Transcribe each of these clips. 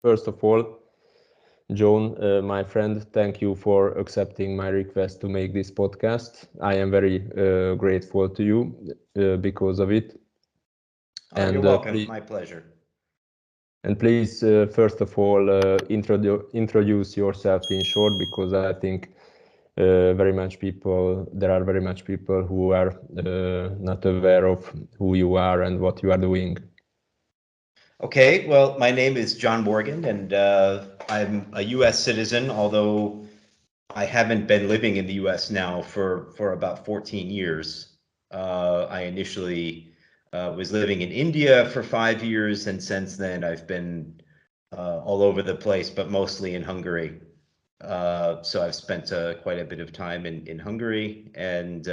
First of all, John, my friend, thank you for accepting my request to make this podcast. I am very grateful to you because of it. You're welcome. My pleasure. And please, first of all, introduce yourself in short, because I think there are very much people who are not aware of who you are and what you are doing. Okay, well, my name is John Morgan, and I'm a U.S. citizen, although I haven't been living in the U.S. now for about 14 years. I initially was living in India for 5 years, and since then I've been all over the place, but mostly in Hungary. So I've spent quite a bit of time in Hungary, and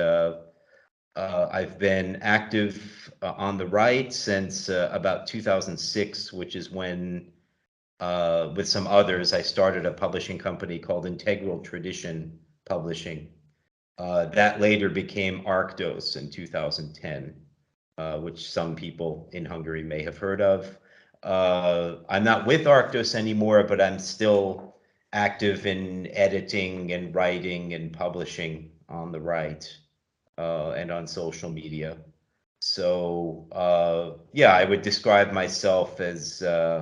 I've been active on the right since about 2006, which is when, with some others, I started a publishing company called Integral Tradition Publishing. That later became Arctos in 2010, which some people in Hungary may have heard of. I'm not with Arctos anymore, but I'm still active in editing and writing and publishing on the right and on social media. So yeah, I would describe myself as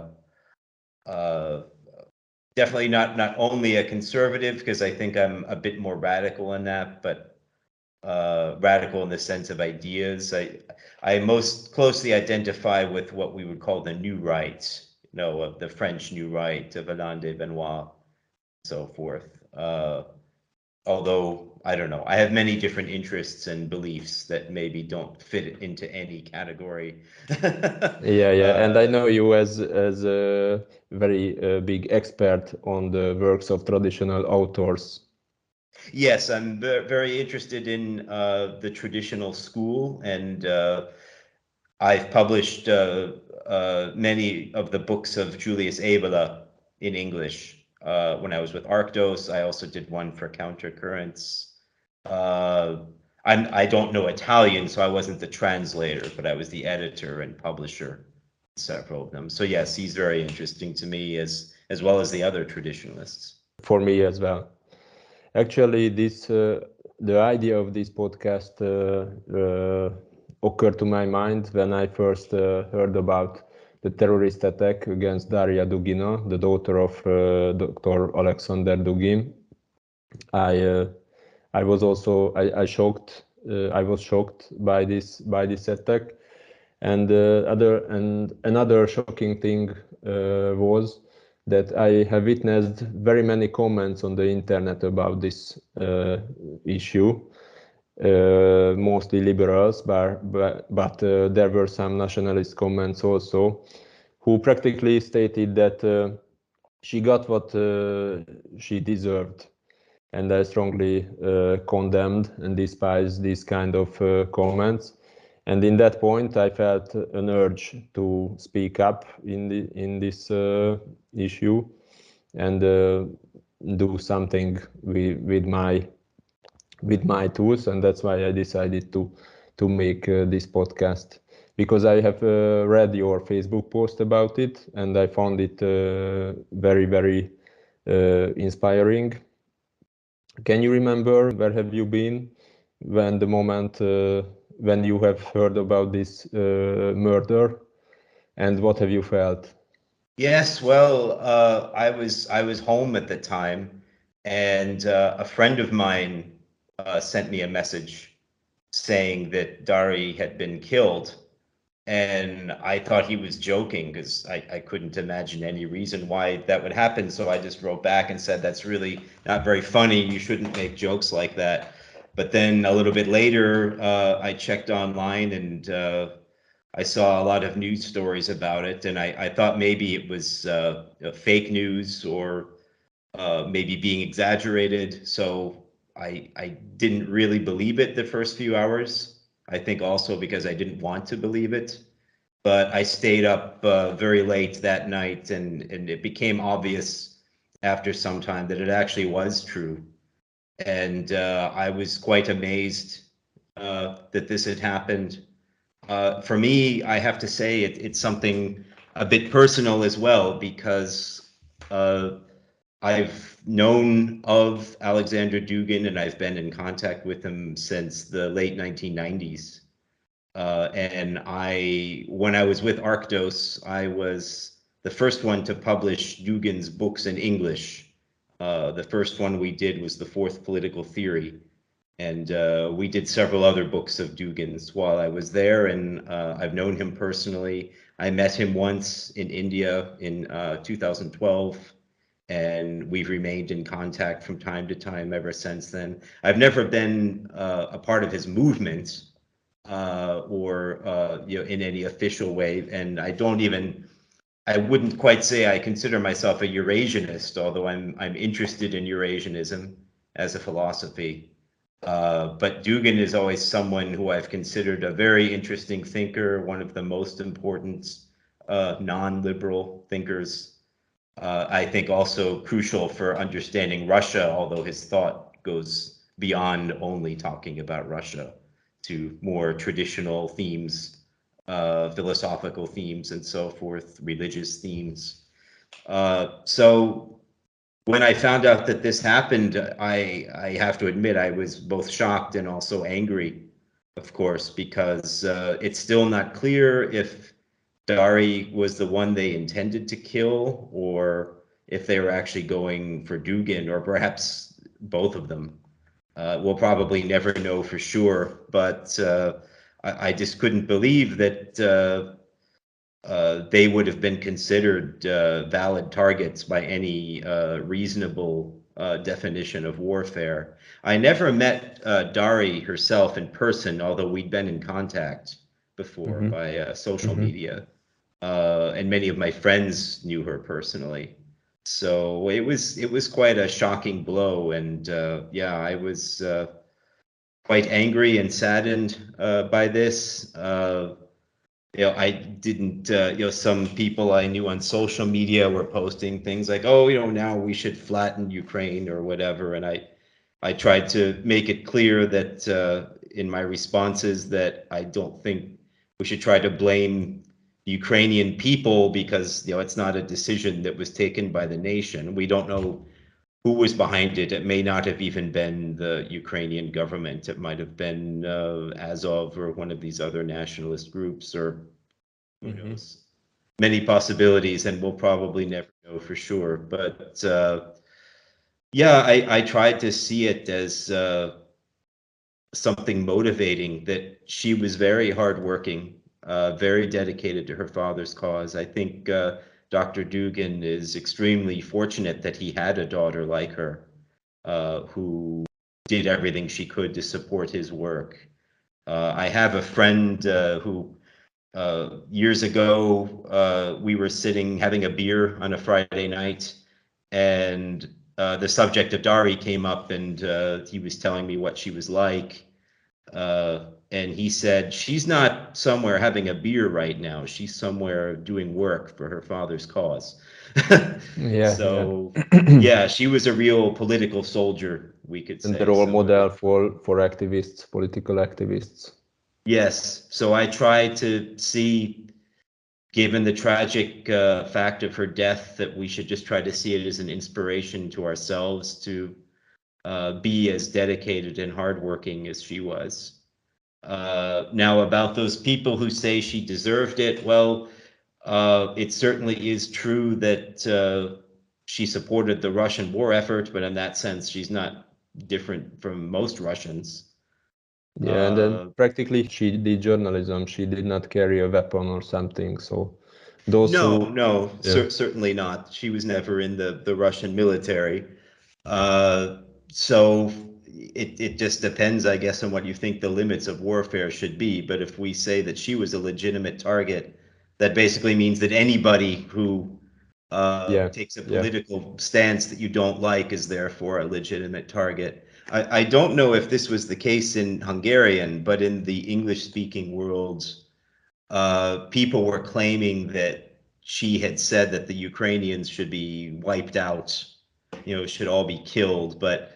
uh, definitely not only a conservative, because I think I'm a bit more radical in that, but radical in the sense of ideas. I most closely identify with what we would call the New Right, of the French New Right of Alain de Benoit, and so forth. Although I don't know, I have many different interests and beliefs that maybe don't fit into any category. Yeah, and I know you as a very big expert on the works of traditional authors. Yes, I'm very interested in the traditional school, and I've published many of the books of Julius Evola in English. When I was with Arctos, I also did one for Countercurrents. Uh, I don't know Italian, so I wasn't the translator, but I was the editor and publisher in several of them. So yes, he's very interesting to me as well as the other traditionalists. For me as well. Actually, the idea of this podcast occurred to my mind when I first heard about the terrorist attack against Daria Dugina, the daughter of Dr. Alexander Dugin. I was also I was shocked by this attack, and another shocking thing was that I have witnessed very many comments on the internet about this issue, mostly liberals, but there were some nationalist comments also, who practically stated that she got what she deserved. And I strongly condemned and despised these kind of comments. And in that point, I felt an urge to speak up in this issue and do something with my tools, and that's why I decided to make this podcast, because I have read your Facebook post about it, and I found it very inspiring. Can you remember where have you been when the moment when you have heard about this murder, and what have you felt? Yes, well, I was home at the time, and a friend of mine sent me a message saying that Dari had been killed, and I thought he was joking because I couldn't imagine any reason why that would happen. So I just wrote back and said, "That's really not very funny. You shouldn't make jokes like that." But then a little bit later, I checked online, and I saw a lot of news stories about it, and I thought maybe it was fake news or maybe being exaggerated. So I didn't really believe it the first few hours. I think also because I didn't want to believe it. But I stayed up very late that night, and it became obvious after some time that it actually was true. And I was quite amazed that this had happened. For me, I have to say it's something a bit personal as well, because I've known of Alexander Dugin and I've been in contact with him since the late 1990s. And when I was with Arctos, I was the first one to publish Dugin's books in English. The first one we did was The Fourth Political Theory. And we did several other books of Dugin's while I was there, and I've known him personally. I met him once in India in 2012, and we've remained in contact from time to time ever since then. I've never been a part of his movement or in any official way, and I wouldn't quite say I consider myself a Eurasianist, although I'm interested in Eurasianism as a philosophy. But Dugin is always someone who I've considered a very interesting thinker, one of the most important non-liberal thinkers. I think also crucial for understanding Russia, although his thought goes beyond only talking about Russia to more traditional themes, philosophical themes and so forth, religious themes. So when I found out that this happened, I have to admit I was both shocked and also angry, of course, because it's still not clear if Dari was the one they intended to kill or if they were actually going for Dugin or perhaps both of them. We'll probably never know for sure, but I just couldn't believe that they would have been considered valid targets by any reasonable definition of warfare. I never met Dari herself in person, although we'd been in contact before by social media. And many of my friends knew her personally. So it was quite a shocking blow. And yeah, I was quite angry and saddened by this. I didn't, some people I knew on social media were posting things like, oh, now we should flatten Ukraine or whatever. And I tried to make it clear that in my responses that I don't think we should try to blame the Ukrainian people because, it's not a decision that was taken by the nation. We don't know who was behind it. It may not have even been the Ukrainian government. It might have been Azov or one of these other nationalist groups, or who knows. Many possibilities, and we'll probably never know for sure. But yeah, I tried to see it as something motivating, that she was very hardworking, very dedicated to her father's cause. I think Dr. Dugin is extremely fortunate that he had a daughter like her, who did everything she could to support his work. I have a friend who years ago, we were sitting having a beer on a Friday night, and the subject of Dari came up, and he was telling me what she was like. And he said, she's not somewhere having a beer right now. She's somewhere doing work for her father's cause. So, yeah, she was a real political soldier, we could say. And the role model for activists, political activists. Yes. So I try to see, given the tragic fact of her death, that we should just try to see it as an inspiration to ourselves to be as dedicated and hardworking as she was. Now, about those people who say she deserved it, well, it certainly is true that she supported the Russian war effort, but in that sense, she's not different from most Russians. Yeah, and then practically she did journalism. She did not carry a weapon or something. So those certainly not. She was never in the Russian military. So it just depends, I guess, on what you think the limits of warfare should be. But if we say that she was a legitimate target, that basically means that anybody who takes a political stance that you don't like is therefore a legitimate target. I don't know if this was the case in Hungarian, but in the English-speaking world, people were claiming that she had said that the Ukrainians should be wiped out, should all be killed. But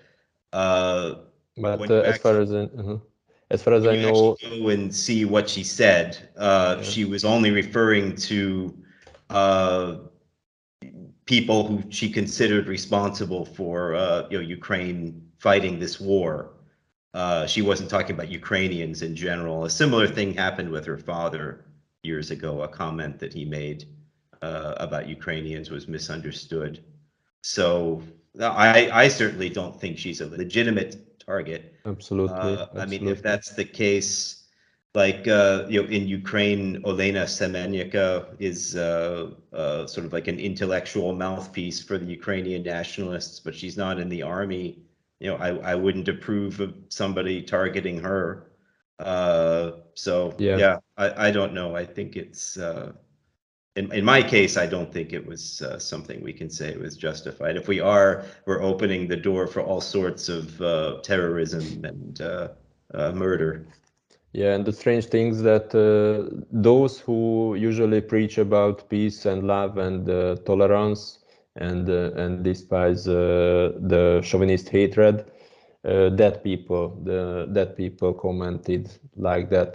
as far as I know, go and see what she said, she was only referring to people who she considered responsible for Ukraine fighting this war. She wasn't talking about Ukrainians in general. A similar thing happened with her father years ago. A comment that he made about Ukrainians was misunderstood. So I certainly don't think she's a legitimate target. Absolutely. I mean, if that's the case, like in Ukraine, Olena Semenyaka is sort of like an intellectual mouthpiece for the Ukrainian nationalists, but she's not in the army. I wouldn't approve of somebody targeting her. So yeah, I don't know. I think it's in my case, I don't think it was something we can say was justified. If we are, we're opening the door for all sorts of terrorism and murder. Yeah, and the strange thing is that those who usually preach about peace and love and tolerance and despise the chauvinist hatred, that people commented like that.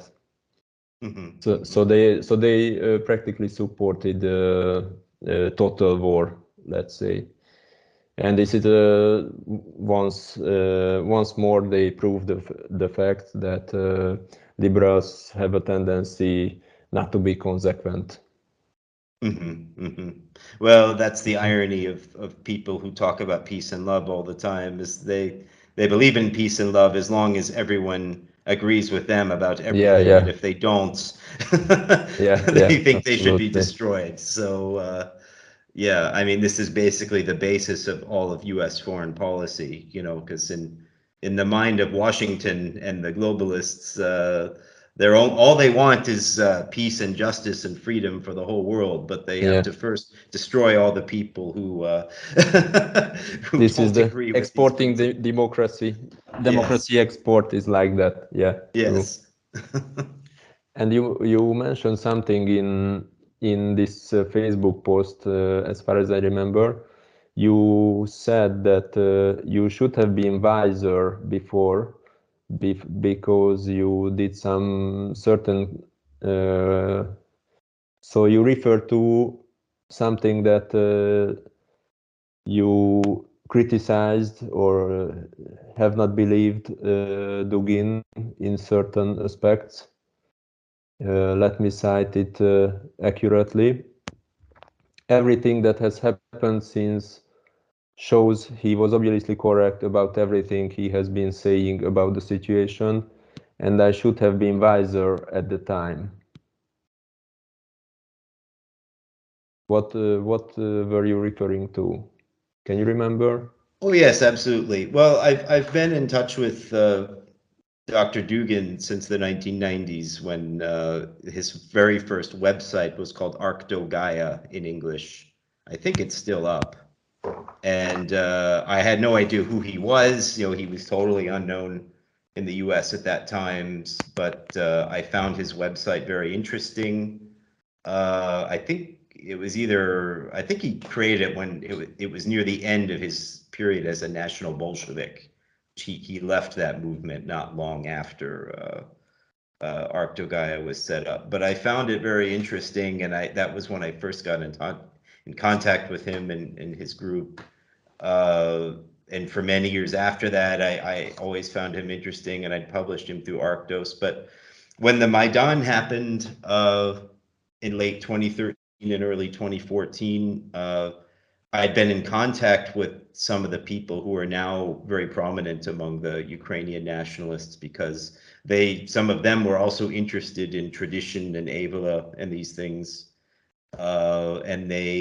So they practically supported total war, let's say. And this is once more they prove the fact that liberals have a tendency not to be consequent. Well, that's the irony of people who talk about peace and love all the time, is they believe in peace and love as long as everyone agrees with them about everything. Yeah. And if they don't, they think they should be destroyed. So yeah, I mean, this is basically the basis of all of U.S. foreign policy, because in the mind of Washington and the globalists, all they want is peace and justice and freedom for the whole world, but they have to first destroy all the people who this don't is the agree with exporting the democracy. Democracy export is like that. Yeah. Yes. And you mentioned something in this Facebook post, as far as I remember. You said that you should have been wiser before, because you did some certain. So you refer to something that you criticized or have not believed Dugin in certain aspects. Let me cite it accurately. Everything that has happened since shows he was obviously correct about everything he has been saying about the situation, and I should have been wiser at the time. What were you referring to? Can you remember? Oh yes, absolutely. Well, I've been in touch with Dr. Dugin since the 1990s, when his very first website was called Arctogaia in English. I think it's still up. And I had no idea who he was. He was totally unknown in the US at that time, but I found his website very interesting. I think he created it when it was near the end of his period as a National Bolshevik. He left that movement not long after Arctogaia was set up. But I found it very interesting, and that was when I first got in contact with him and his group. And for many years after that, I always found him interesting, and I'd published him through Arctos. But when the Maidan happened in late 2013 and early 2014, I'd been in contact with some of the people who are now very prominent among the Ukrainian nationalists, because some of them were also interested in tradition and Avila and these things, and they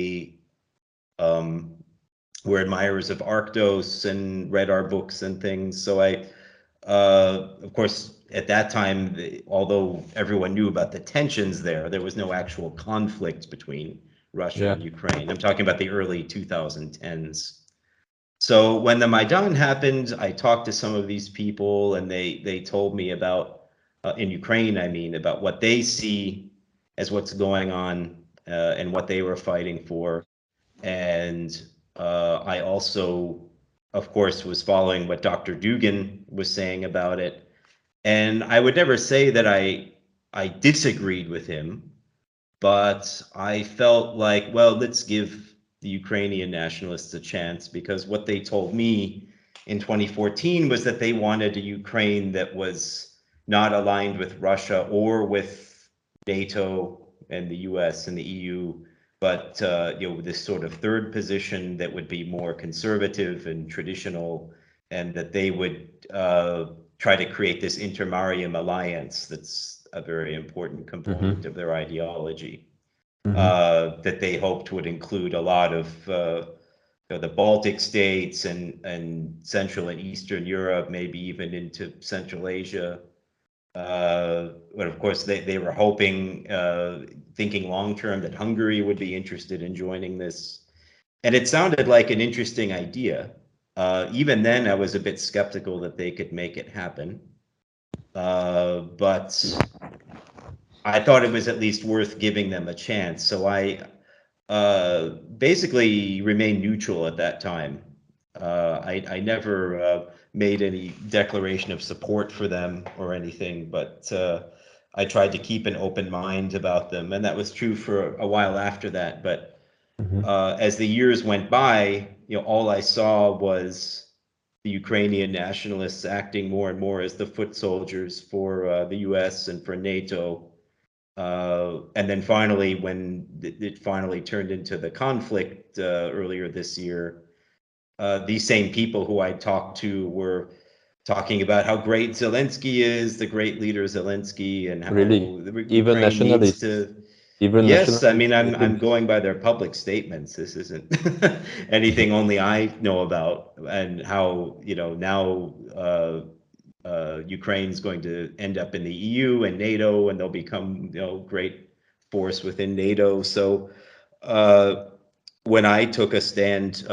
were admirers of Arctos and read our books and things. So of course, at that time, although everyone knew about the tensions there was no actual conflict between Russia and Ukraine. I'm talking about the early 2010s. So when the Maidan happened, I talked to some of these people, and they told me about, in Ukraine, I mean, about what they see as what's going on and what they were fighting for. And I also, of course, was following what Dr. Dugin was saying about it. And I would never say that I disagreed with him, but I felt like, well, let's give the Ukrainian nationalists a chance, because what they told me in 2014 was that they wanted a Ukraine that was not aligned with Russia or with NATO and the US and the EU, but this sort of third position that would be more conservative and traditional, and that they would try to create this intermarium alliance that's a very important component of their ideology, that they hoped would include a lot of the Baltic states and Central and Eastern Europe, maybe even into Central Asia. But of course, they were hoping, thinking long term, that Hungary would be interested in joining this. And it sounded like an interesting idea. Even then, I was a bit skeptical that they could make it happen. But I thought it was at least worth giving them a chance. So I basically remained neutral at that time. I never made any declaration of support for them or anything, but I tried to keep an open mind about them, and that was true for a while after that. But as the years went by, all I saw was the Ukrainian nationalists acting more and more as the foot soldiers for the U.S. and for NATO. And then finally, when it finally turned into the conflict earlier this year, these same people who I talked to were talking about how great Zelensky is, the great leader Zelensky, and how Really? Even Ukraine needs nationalists? to. Even Yes, I nationalists mean, I'm stated. going by their public statements. This isn't anything only I know about, and how now Ukraine's going to end up in the EU and NATO, and they'll become great force within NATO. So when I took a stand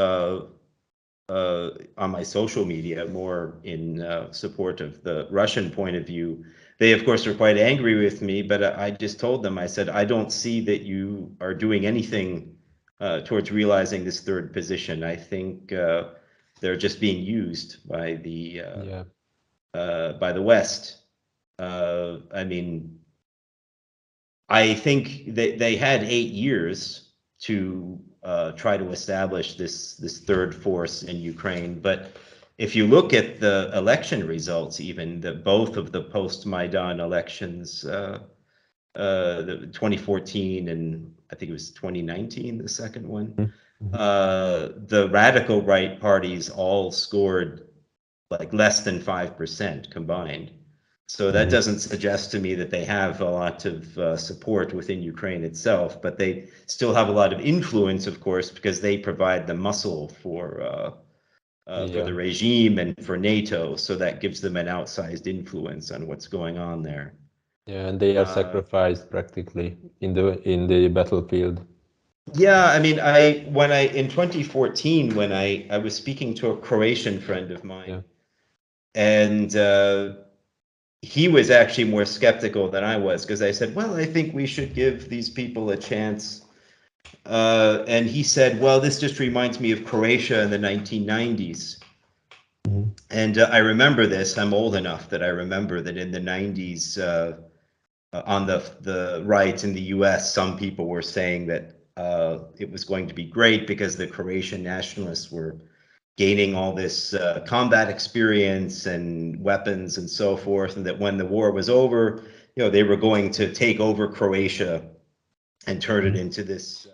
on my social media, more in support of the Russian point of view, they of course were quite angry with me. But I just told them, I said, I don't see that you are doing anything towards realizing this third position. I think they're just being used by Yeah. the West. I mean, I think they had 8 years to try to establish this third force in Ukraine. But if you look at the election results, even both of the post-Maidan elections, the 2014 and I think it was 2019, the second one, the radical right parties all scored like less than 5% combined. So that doesn't suggest to me that they have a lot of support within Ukraine itself, but they still have a lot of influence, of course, because they provide the muscle for Yeah. the regime and for NATO. So that gives them an outsized influence on what's going on there. Yeah, and they are sacrificed practically in the battlefield. Yeah, I mean, in 2014, when I was speaking to a Croatian friend of mine, Yeah. and he was actually more skeptical than I was, because I said, well, I think we should give these people a chance. And he said, well, this just reminds me of Croatia in the 1990s. And I remember this. I'm old enough that I remember that in the 90s, on the right in the US, some people were saying that it was going to be great because the Croatian nationalists were gaining all this combat experience and weapons and so forth, and that when the war was over, they were going to take over Croatia and turn it into this,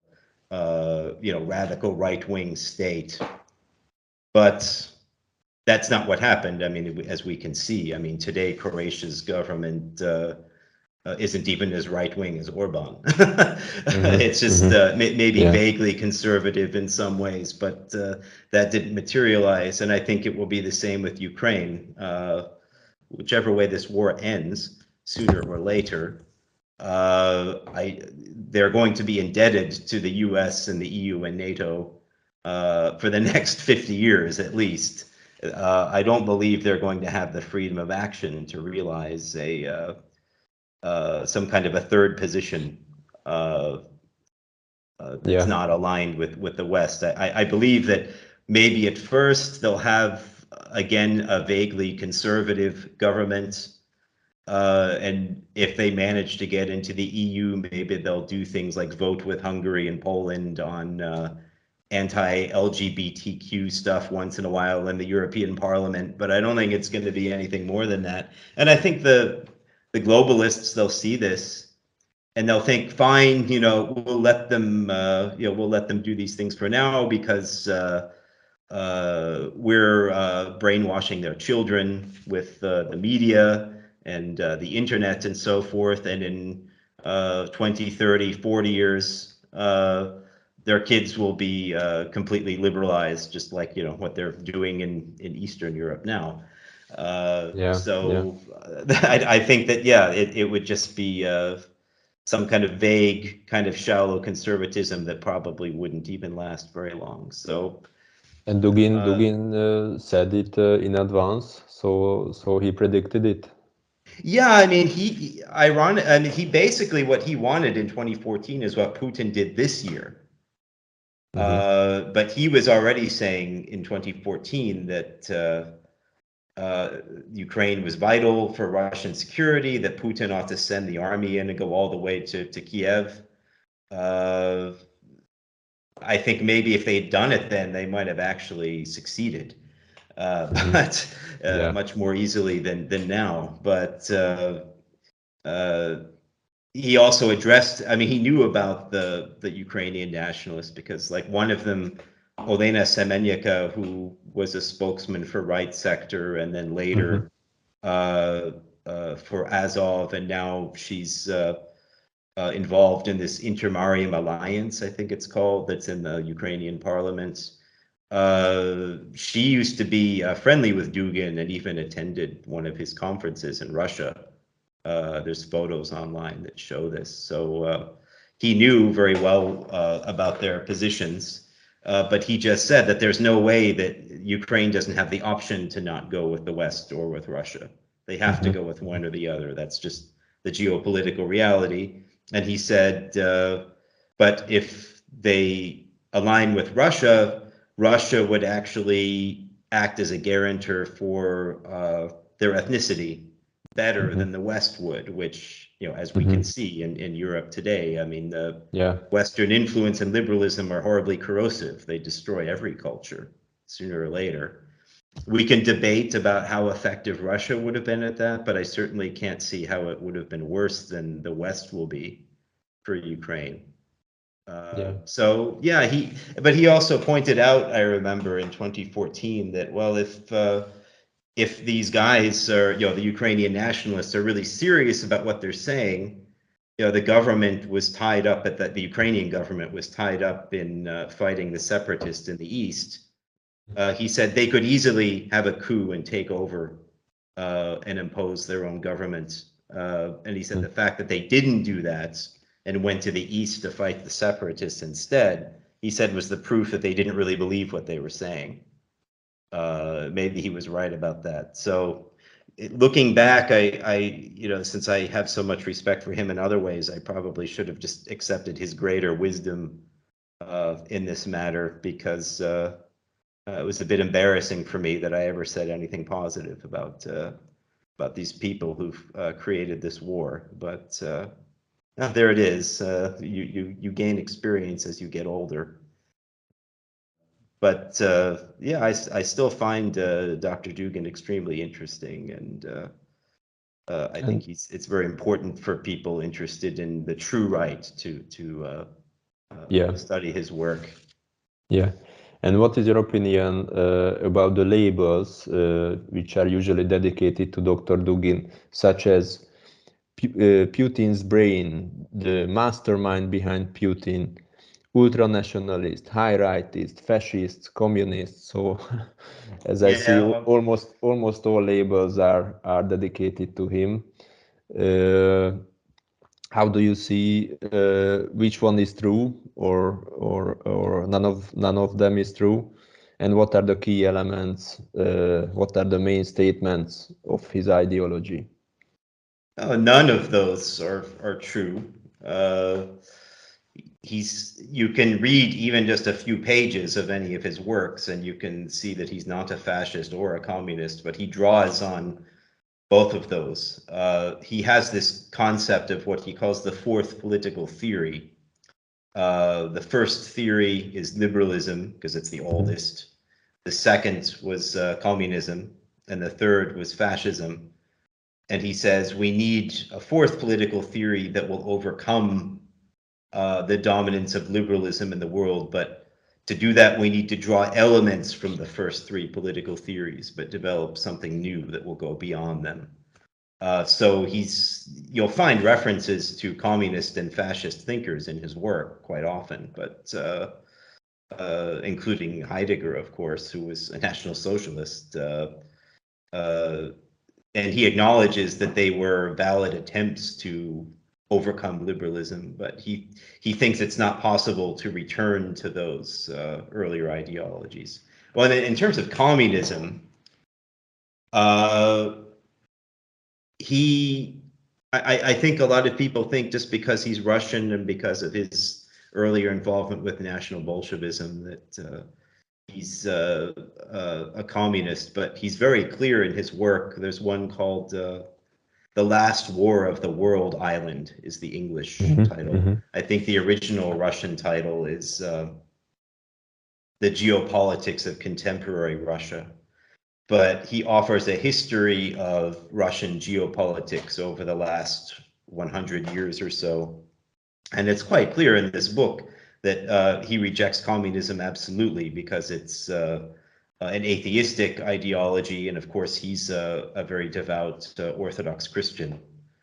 radical right-wing state. But that's not what happened. I mean, as we can see, I mean, today Croatia's government isn't even as right-wing as Orban. It's just maybe vaguely conservative in some ways, but that didn't materialize. And I think it will be the same with Ukraine. Whichever way this war ends, sooner or later, they're going to be indebted to the US and the EU and NATO for the next 50 years at least. I don't believe they're going to have the freedom of action to realize some kind of a third position that's not aligned with the West. I believe that maybe at first they'll have, again, a vaguely conservative government, And if they manage to get into the EU, maybe they'll do things like vote with Hungary and Poland on anti-LGBTQ stuff once in a while in the European Parliament. But I don't think it's going to be anything more than that. And I think the globalists, they'll see this and they'll think, fine, we'll let them, we'll let them do these things for now because we're brainwashing their children with the media and the internet and so forth. And in 20, 30, 40 years, their kids will be completely liberalized, just like, what they're doing in Eastern Europe now. Yeah, yeah. So I think that, yeah, it would just be some kind of vague, kind of shallow conservatism that probably wouldn't even last very long. So And Dugin said it in advance, so he predicted it. yeah, I mean, I mean, he basically what he wanted in 2014 is what Putin did this year. But he was already saying in 2014 that Ukraine was vital for Russian security, that Putin ought to send the army in and go all the way to Kiev. I think maybe if they'd done it then, they might have actually succeeded, but Yeah. much more easily than now. But he also addressed, I mean, he knew about the Ukrainian nationalists because like one of them, Olena Semenyaka, who was a spokesman for Right Sector and then later for Azov, and now she's involved in this Intermarium Alliance, I think it's called, that's in the Ukrainian parliament. She used to be friendly with Dugin and even attended one of his conferences in Russia. There's photos online that show this. So he knew very well about their positions, but he just said that there's no way that Ukraine doesn't have the option to not go with the West or with Russia. They have to go with one or the other. That's just the geopolitical reality. And he said, but if they align with Russia, Russia would actually act as a guarantor for their ethnicity better than the West would, which, as we can see in Europe today, I mean, the Western influence and liberalism are horribly corrosive. They destroy every culture sooner or later. We can debate about how effective Russia would have been at that, but I certainly can't see how it would have been worse than the West will be for Ukraine. So yeah, but he also pointed out, I remember in 2014, that well, if these guys are, the Ukrainian nationalists are really serious about what they're saying, the government was tied up the Ukrainian government was tied up in fighting the separatists in the east. He said they could easily have a coup and take over and impose their own government. And he said the fact that they didn't do that and went to the east to fight the separatists instead, he said was the proof that they didn't really believe what they were saying. Maybe he was right about that. So looking back, I since I have so much respect for him in other ways, I probably should have just accepted his greater wisdom in this matter, because it was a bit embarrassing for me that I ever said anything positive about these people who've created this war. But there it is. You gain experience as you get older. But yeah, I still find Dr. Dugin extremely interesting, and I think it's very important for people interested in the true right to study his work. Yeah. And what is your opinion about the labels which are usually dedicated to Dr. Dugin, such as Putin's brain, the mastermind behind Putin, ultranationalist, high rightist, fascists, communists? So, as I see, almost all labels are dedicated to him. How do you see which one is true, or none of them is true, and what are the key elements? What are the main statements of his ideology? None of those are true. You can read even just a few pages of any of his works, and you can see that he's not a fascist or a communist, but he draws on both of those. He has this concept of what he calls the fourth political theory. The first theory is liberalism, because it's the oldest. The second was communism, and the third was fascism. And he says we need a fourth political theory that will overcome the dominance of liberalism in the world. But to do that, we need to draw elements from the first three political theories, but develop something new that will go beyond them. So you'll find references to communist and fascist thinkers in his work quite often, but including Heidegger, of course, who was a National Socialist. And he acknowledges that they were valid attempts to overcome liberalism, but he thinks it's not possible to return to those earlier ideologies. Well, in terms of communism, I think a lot of people think just because he's Russian and because of his earlier involvement with National Bolshevism that he's a communist, but he's very clear in his work. There's one called The Last War of the World Island is the English title. I think the original Russian title is The Geopolitics of Contemporary Russia. But he offers a history of Russian geopolitics over the last 100 years or so. And it's quite clear in this book that he rejects communism absolutely because it's an atheistic ideology. And of course, he's a very devout Orthodox Christian.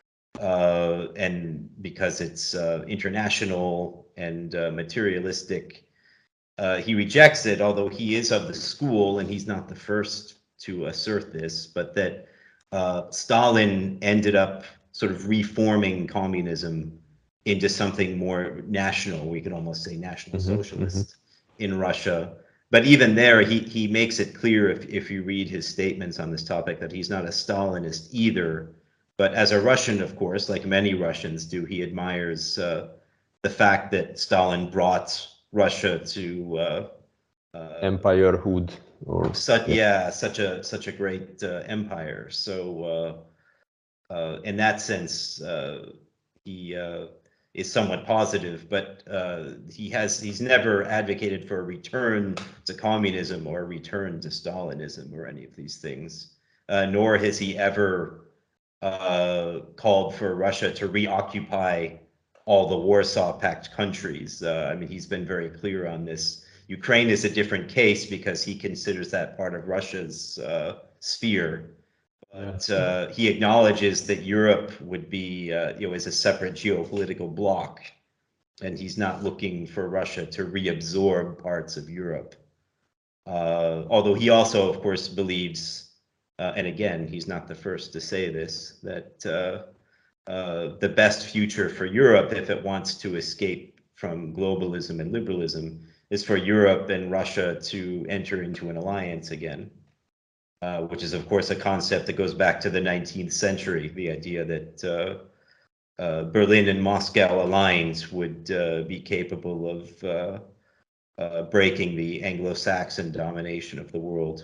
And because it's international and materialistic, he rejects it, although he is of the school, and he's not the first to assert this, but that Stalin ended up sort of reforming communism into something more national. We could almost say national socialist in Russia. But even there, he makes it clear, if you read his statements on this topic, that he's not a Stalinist either. But as a Russian, of course, like many Russians do, he admires the fact that Stalin brought Russia to empirehood, or such a great empire. So in that sense, he is somewhat positive, but he's never advocated for a return to communism or a return to Stalinism or any of these things, nor has he ever called for Russia to reoccupy all the Warsaw Pact countries. I mean, he's been very clear on this. Ukraine is a different case because he considers that part of Russia's sphere. But he acknowledges that Europe would be, as a separate geopolitical bloc, and he's not looking for Russia to reabsorb parts of Europe. Although he also, of course, believes, and again, he's not the first to say this, that the best future for Europe, if it wants to escape from globalism and liberalism, is for Europe and Russia to enter into an alliance again. Which is, of course, a concept that goes back to the 19th century, the idea that Berlin and Moscow aligned would be capable of breaking the Anglo-Saxon domination of the world.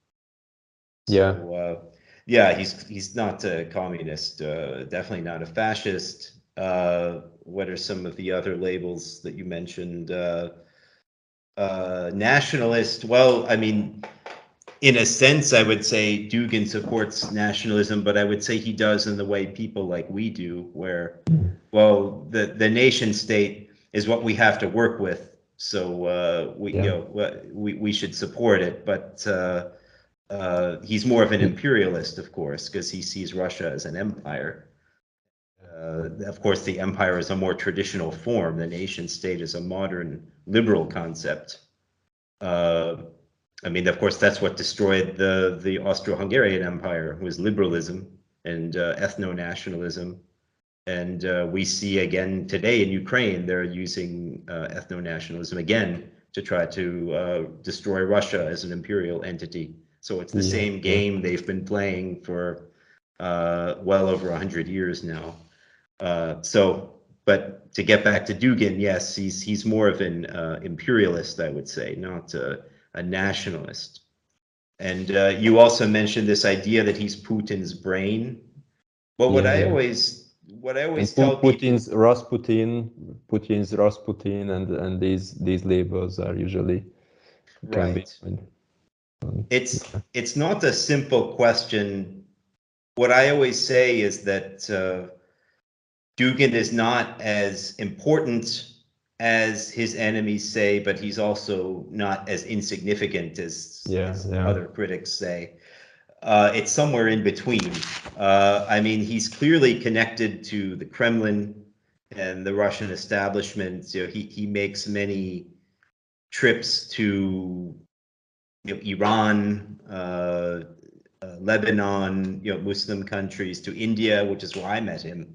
So, he's not a communist, definitely not a fascist. What are some of the other labels that you mentioned? Nationalist, well, I mean, in a sense, I would say Dugin supports nationalism, but I would say he does in the way people like we do, where, well, the nation state is what we have to work with, so we should support it. But he's more of an imperialist, of course, because he sees Russia as an empire. Of course, the empire is a more traditional form. The nation state is a modern liberal concept. I mean, of course, that's what destroyed the Austro-Hungarian Empire, was liberalism and ethno-nationalism. And we see again today in Ukraine, they're using ethno-nationalism again to try to destroy Russia as an imperial entity. So it's the same game they've been playing for well over 100 years now. But to get back to Dugin, yes, he's more of an imperialist, I would say, not a nationalist. And you also mentioned this idea that he's Putin's brain. Well, what I always tell people, Putin's Rasputin, and these labels are usually can be. right? It's not a simple question. What I always say is that Dugin is not as important as his enemies say, but he's also not as insignificant as other critics say. It's somewhere in between. I mean, he's clearly connected to the Kremlin and the Russian establishment. You know, he makes many trips to Iran, Lebanon, Muslim countries, to India, which is where I met him.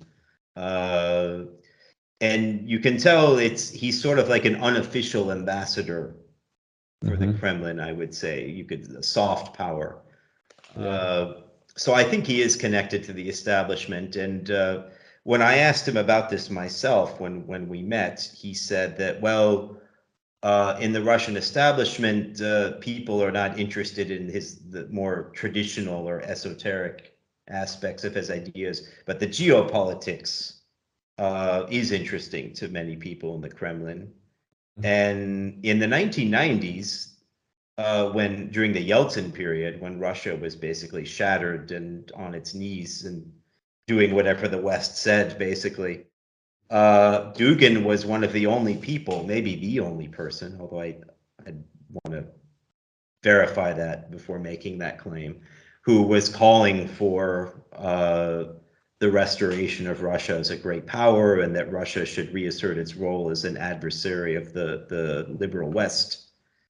And you can tell he's sort of like an unofficial ambassador for the Kremlin, I would say. A soft power. So I think he is connected to the establishment. And when I asked him about this myself, when we met, he said that, well, in the Russian establishment, people are not interested in the more traditional or esoteric aspects of his ideas, but the geopolitics is interesting to many people in the Kremlin. And in the 1990s, during the Yeltsin period, when Russia was basically shattered and on its knees and doing whatever the West said, basically, Dugin was one of the only people, maybe the only person, although I'd want to verify that before making that claim, who was calling for the restoration of Russia as a great power, and that Russia should reassert its role as an adversary of the liberal West.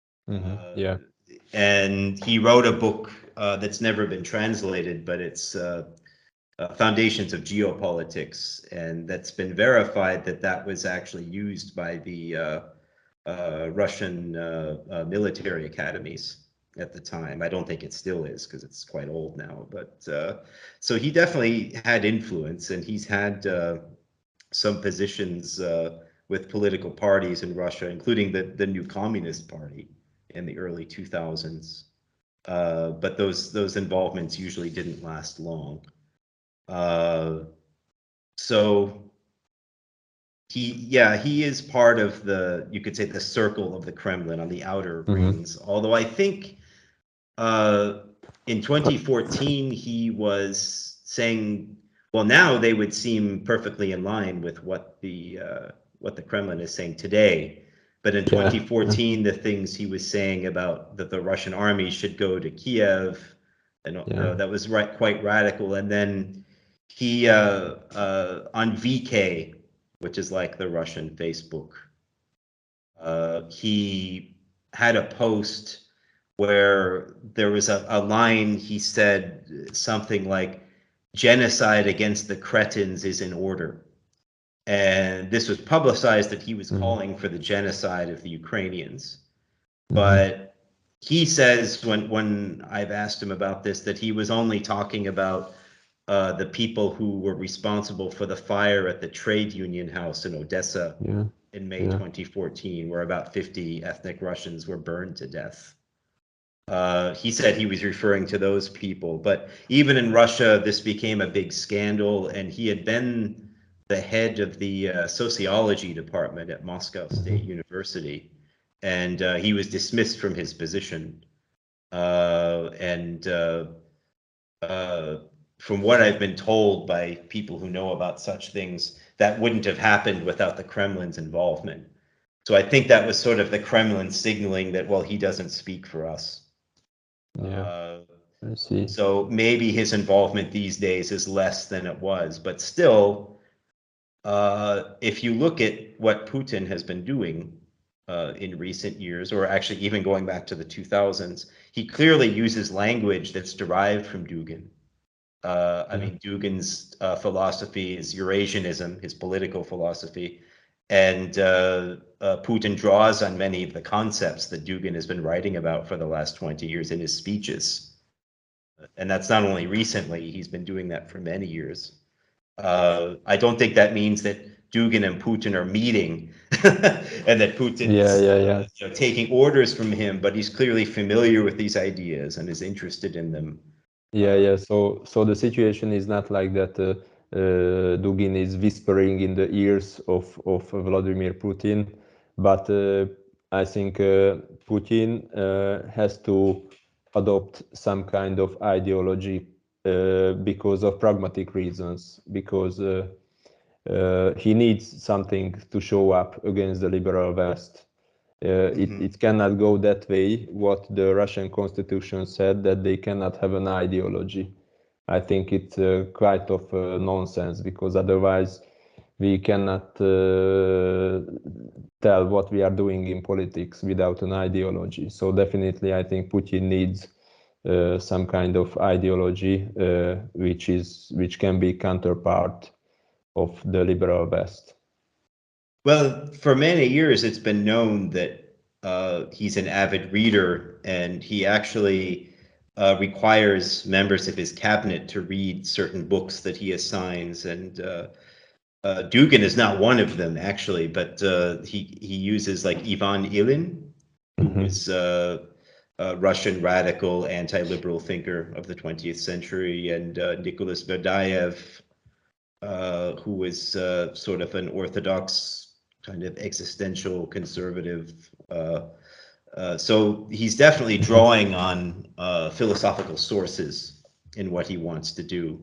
And he wrote a book that's never been translated, but it's Foundations of Geopolitics, and that's been verified that was actually used by the Russian military academies at the time. I don't think it still is because it's quite old now, but so he definitely had influence, and he's had some positions with political parties in Russia, including the new Communist Party in the early 2000s. But those involvements usually didn't last long. So he is part of you could say, the circle of the Kremlin on the outer rings. Although I think in 2014 he was saying, well, now they would seem perfectly in line with what the Kremlin is saying today. But in 2014, the things he was saying about that the Russian army should go to Kiev, and that was quite radical. And then he on VK, which is like the Russian Facebook, he had a post where there was a line. He said something like, "Genocide against the cretins is in order." And this was publicized that he was calling for the genocide of the Ukrainians. But he says, when I've asked him about this, that he was only talking about the people who were responsible for the fire at the trade union house in Odessa in May 2014, where about 50 ethnic Russians were burned to death. He said he was referring to those people. But even in Russia, this became a big scandal, and he had been the head of the sociology department at Moscow State University, and he was dismissed from his position. From what I've been told by people who know about such things, that wouldn't have happened without the Kremlin's involvement. So I think that was sort of the Kremlin signaling that, well, he doesn't speak for us. I see. So maybe his involvement these days is less than it was, but still, if you look at what Putin has been doing in recent years, or actually even going back to the 2000s, he clearly uses language that's derived from Dugin. I mean, Dugin's philosophy is Eurasianism, his political philosophy, and Putin draws on many of the concepts that Dugin has been writing about for the last 20 years in his speeches. And that's not only recently, he's been doing that for many years. I don't think that means that Dugin and Putin are meeting, and that Putin Yeah, is yeah. taking orders from him, but he's clearly familiar with these ideas and is interested in them. Yeah. So the situation is not like that. Dugin is whispering in the ears of Vladimir Putin, but I think Putin has to adopt some kind of ideology because of pragmatic reasons, because he needs something to show up against the liberal West. It cannot go that way. What the Russian constitution said, that they cannot have an ideology. I think it's quite of nonsense, because otherwise we cannot tell what we are doing in politics without an ideology. So definitely, I think Putin needs some kind of ideology which can be counterpart of the liberal West. Well, for many years, it's been known that he's an avid reader, and he actually requires members of his cabinet to read certain books that he assigns. And Dugin is not one of them, actually, but he uses like Ivan Ilyin, who was a Russian radical anti-liberal thinker of the 20th century, and Nicholas Verdayev, who was sort of an orthodox kind of existential conservative. So he's definitely drawing on philosophical sources in what he wants to do.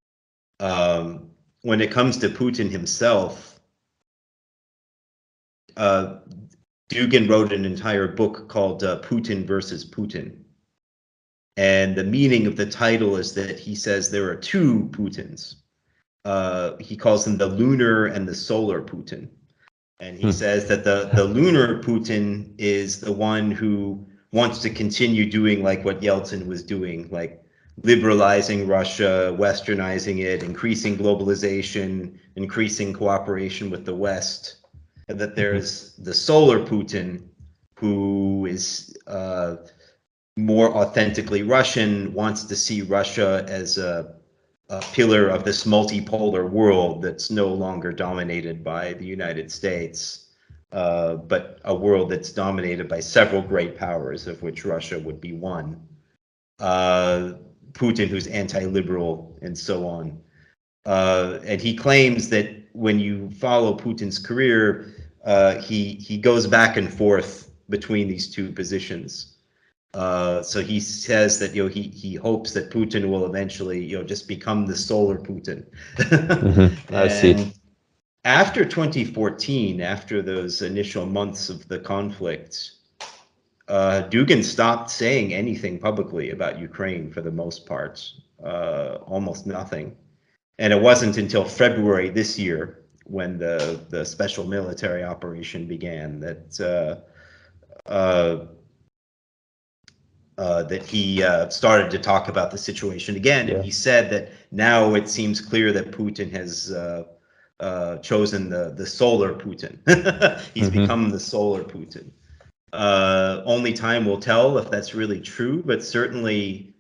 When it comes to Putin himself, Dugin wrote an entire book called Putin versus Putin. And the meaning of the title is that he says there are two Putins. He calls them the lunar and the solar Putin. And he says that the lunar Putin is the one who wants to continue doing like what Yeltsin was doing, like liberalizing Russia, westernizing it, increasing globalization, increasing cooperation with the West. And that there's the solar Putin, who is more authentically Russian, wants to see Russia as a pillar of this multipolar world that's no longer dominated by the United States, but a world that's dominated by several great powers, of which Russia would be one. Putin, who's anti-liberal, and so on. And he claims that when you follow Putin's career, he goes back and forth between these two positions. So he says that he hopes that Putin will eventually just become the solar Putin. I see. And after 2014, after those initial months of the conflict, Dugin stopped saying anything publicly about Ukraine for the most part, almost nothing. And it wasn't until February this year, when the special military operation began, that that he started to talk about the situation again. Yeah. And he said that now it seems clear that Putin has chosen the solar Putin. He's become the solar Putin. Only time will tell if that's really true, but certainly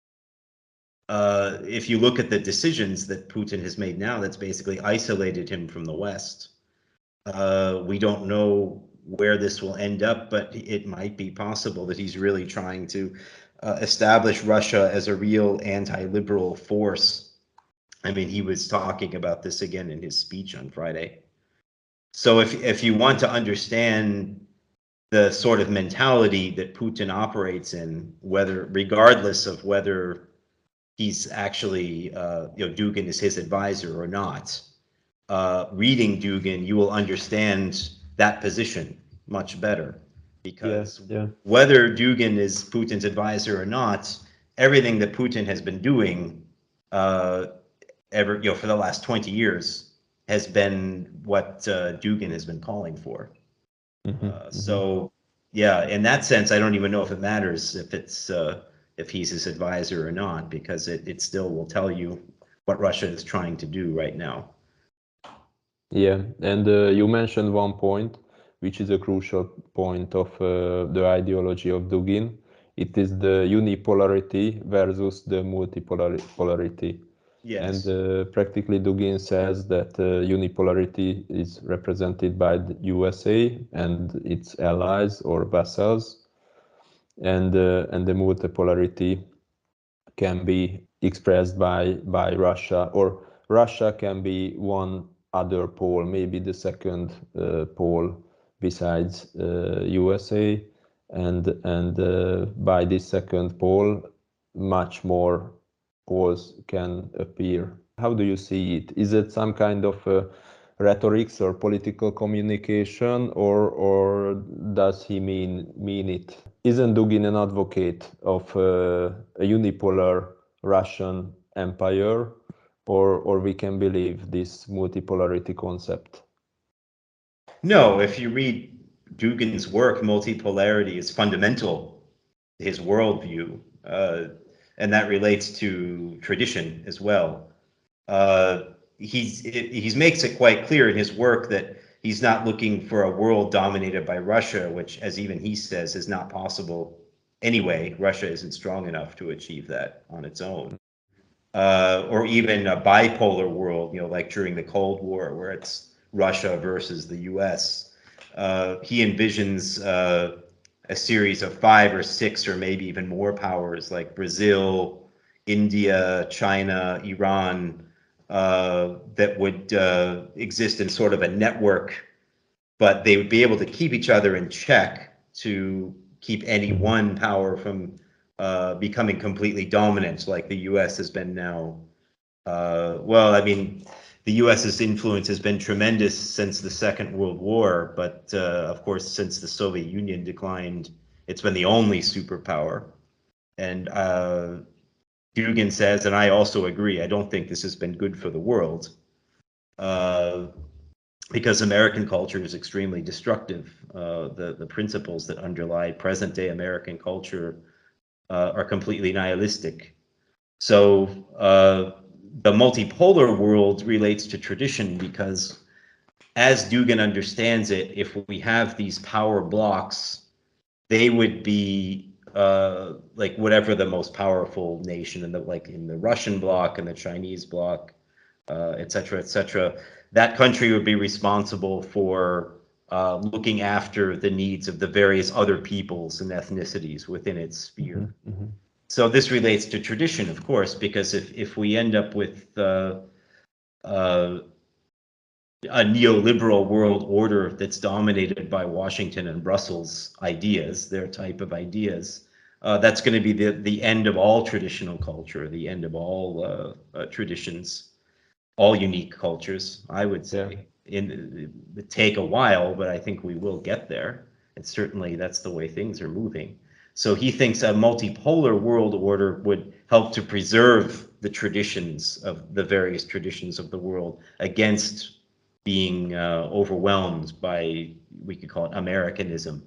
if you look at the decisions that Putin has made now, that's basically isolated him from the West. We don't know where this will end up, but it might be possible that he's really trying to establish Russia as a real anti-liberal force. I mean, he was talking about this again in his speech on Friday. So if you want to understand the sort of mentality that Putin operates in, regardless of whether he's actually, Dugin is his advisor or not, reading Dugin, you will understand that position much better, because whether Dugin is Putin's advisor or not, everything that Putin has been doing for the last 20 years has been what Dugin has been calling for. So yeah, in that sense, I don't even know if it matters if he's his advisor or not, because it still will tell you what Russia is trying to do right now. Yeah, and you mentioned one point, which is a crucial point of the ideology of Dugin. It is the unipolarity versus the multipolarity. Yes. And practically Dugin says that unipolarity is represented by the USA and its allies or vassals, and the multipolarity can be expressed by Russia, or Russia can be one other pole, maybe the second pole besides USA, and by this second pole, much more poles can appear. How do you see it? Is it some kind of rhetorics or political communication, or does he mean it? Isn't Dugin an advocate of a unipolar Russian empire, or we can believe this multipolarity concept? No, if you read Dugin's work, multipolarity is fundamental to his worldview, and that relates to tradition as well. He makes it quite clear in his work that he's not looking for a world dominated by Russia, which, as even he says, is not possible anyway. Russia isn't strong enough to achieve that on its own. Or even a bipolar world, like during the Cold War, where it's Russia versus the US. He envisions a series of 5 or 6 or maybe even more powers like Brazil, India, China, Iran, that would exist in sort of a network, but they would be able to keep each other in check to keep any one power from becoming completely dominant, like the U.S. has been now. Well, I mean, the U.S.'s influence has been tremendous since the Second World War, but of course, since the Soviet Union declined, it's been the only superpower. And Dugin says, and I also agree, I don't think this has been good for the world, because American culture is extremely destructive. The principles that underlie present-day American culture are completely nihilistic. So the multipolar world relates to tradition because, as Dugin understands it, if we have these power blocks, they would be like whatever the most powerful nation in the Russian bloc and the Chinese bloc, et cetera, that country would be responsible for looking after the needs of the various other peoples and ethnicities within its sphere. Mm-hmm. So this relates to tradition, of course, because if we end up with a neoliberal world order that's dominated by Washington and Brussels ideas, their type of ideas, that's going to be the end of all traditional culture, the end of all traditions, all unique cultures, I would say. It would take a while, but I think we will get there. And certainly that's the way things are moving. So he thinks a multipolar world order would help to preserve the traditions of the various traditions of the world against being overwhelmed by, we could call it Americanism.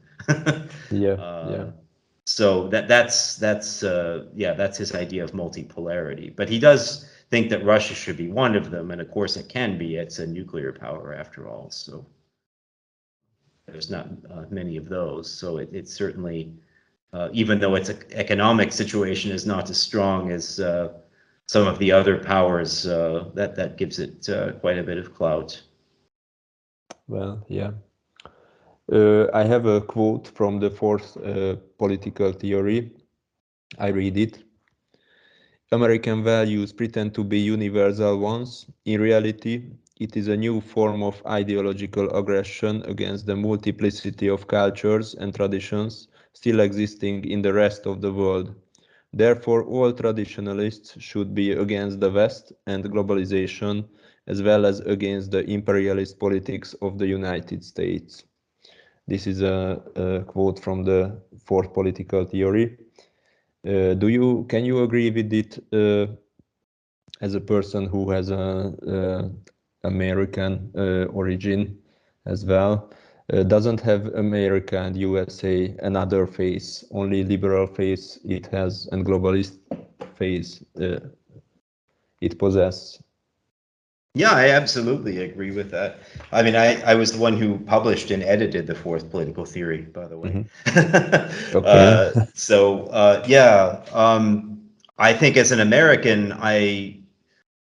So that's his idea of multipolarity. But he does think that Russia should be one of them, and of course it can be. It's a nuclear power after all, so there's not many of those. So it's certainly, even though its economic situation is not as strong as some of the other powers, that gives it quite a bit of clout. Well, yeah. I have a quote from the fourth political theory. I read it. American values pretend to be universal ones. In reality, it is a new form of ideological aggression against the multiplicity of cultures and traditions still existing in the rest of the world. Therefore, all traditionalists should be against the West and globalization, as well as against the imperialist politics of the United States. This is a quote from the fourth political theory. Can you agree with it as a person who has a American origin as well? Doesn't have America and USA another face, only liberal face it has and globalist face it possesses? Yeah, I absolutely agree with that. I mean, I was the one who published and edited the fourth political theory, by the way. Okay. I think as an American,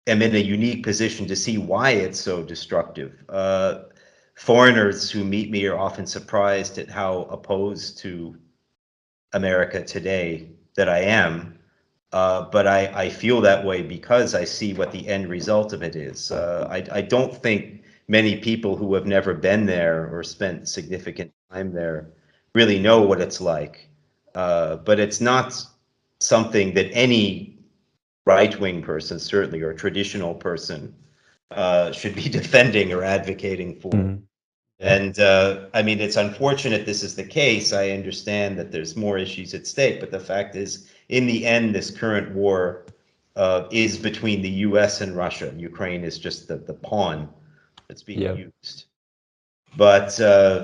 am in a unique position to see why it's so destructive. Foreigners who meet me are often surprised at how opposed to America today that I am. But I feel that way because I see what the end result of it is. I don't think many people who have never been there or spent significant time there really know what it's like. But it's not something that any right-wing person, certainly, or traditional person, should be defending or advocating for. Mhm. And I mean, it's unfortunate this is the case. I understand that there's more issues at stake, but the fact is, in the end, this current war is between the US and Russia. Ukraine is just the pawn that's being Yeah. used. But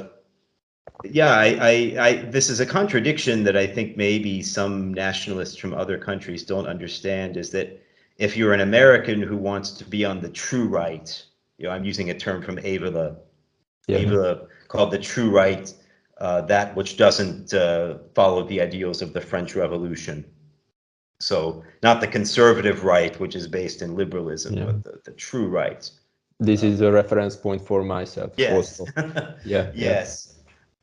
yeah, this is a contradiction that I think maybe some nationalists from other countries don't understand, is that if you're an American who wants to be on the true right, I'm using a term from Avila, called the true right, that which doesn't follow the ideals of the French Revolution. So not the conservative right, which is based in liberalism, but the true right. This is a reference point for myself. Yes. Also. Yeah. Yes.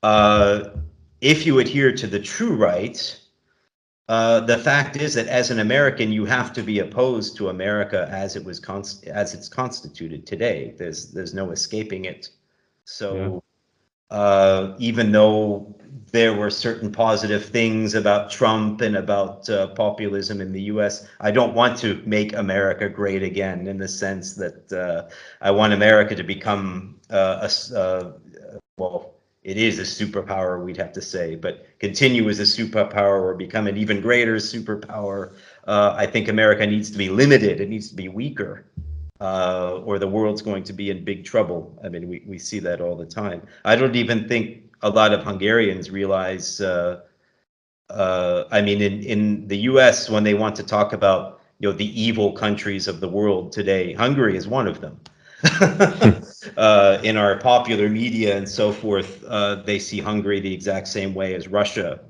If you adhere to the true right, the fact is that as an American, you have to be opposed to America as it's constituted today. There's no escaping it. So even though there were certain positive things about Trump and about populism in the US, I don't want to make America great again, in the sense that I want America to become well, it is a superpower, we'd have to say, but continue as a superpower or become an even greater superpower. I think America needs to be limited. It needs to be weaker. Or the world's going to be in big trouble. I mean, we see that all the time. I don't even think a lot of Hungarians realize, I mean, in the US, when they want to talk about, the evil countries of the world today, Hungary is one of them. In our popular media and so forth, they see Hungary the exact same way as Russia.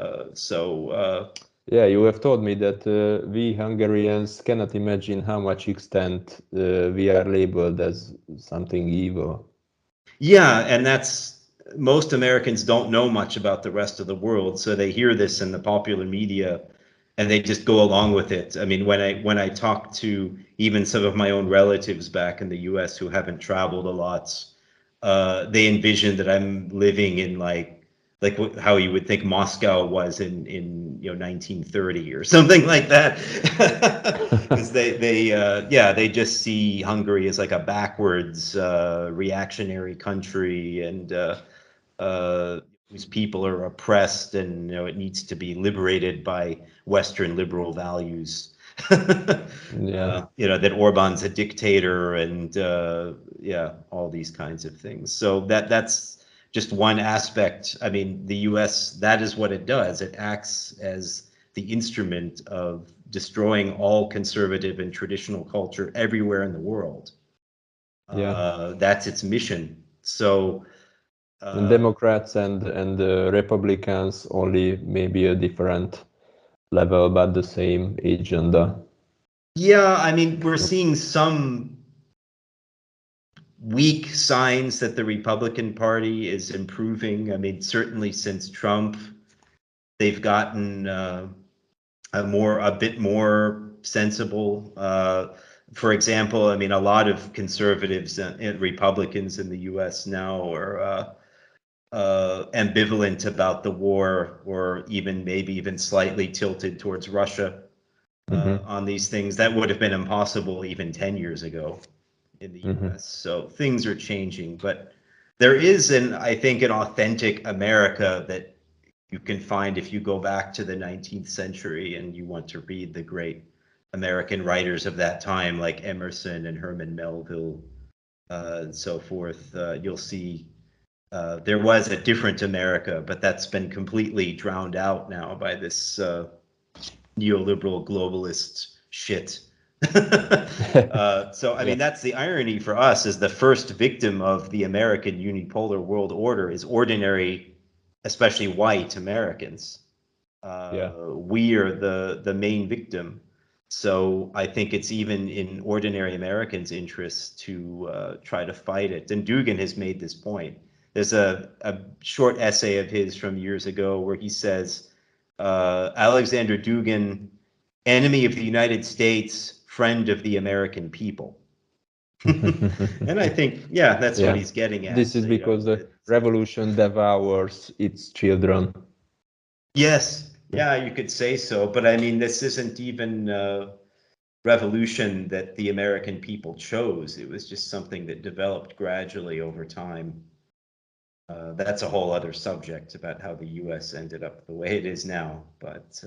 Yeah, you have told me that we Hungarians cannot imagine how much extent we are labeled as something evil. Yeah, and most Americans don't know much about the rest of the world, so they hear this in the popular media and they just go along with it. I mean, when I talk to even some of my own relatives back in the US who haven't traveled a lot, they envision that I'm living in like how you would think Moscow was in 1930 or something like that, because they just see Hungary as like a backwards reactionary country, and whose people are oppressed, and it needs to be liberated by Western liberal values. That Orban's a dictator, and all these kinds of things. So that's just one aspect. I mean, the US, that is what it does. It acts as the instrument of destroying all conservative and traditional culture everywhere in the world. That's its mission. So Democrats and Republicans only maybe a different level, but the same agenda. Yeah, I mean, we're seeing some weak signs that the Republican Party is improving. I mean, certainly since Trump, they've gotten a bit more sensible. For example, I mean, a lot of conservatives and Republicans in the U.S. now are ambivalent about the war, or maybe even slightly tilted towards Russia on these things. That would have been impossible even 10 years ago in the US. So things are changing, but there is I think an authentic America that you can find if you go back to the 19th century and you want to read the great American writers of that time, like Emerson and Herman Melville, and so forth. You'll see there was a different America, but that's been completely drowned out now by this neoliberal globalist shit. So I mean, that's the irony for us, is the first victim of the American unipolar world order is ordinary, especially white Americans. We are the main victim. So I think it's even in ordinary Americans' interest to try to fight it. And Dugin has made this point. There's a short essay of his from years ago where he says, Alexander Dugin, enemy of the United States, friend of the American people. And I think, yeah, that's what he's getting at. This is because the revolution devours its children. Yes, yeah, you could say so. But I mean, this isn't even revolution that the American people chose. It was just something that developed gradually over time. That's a whole other subject about how the U.S. ended up the way it is now. But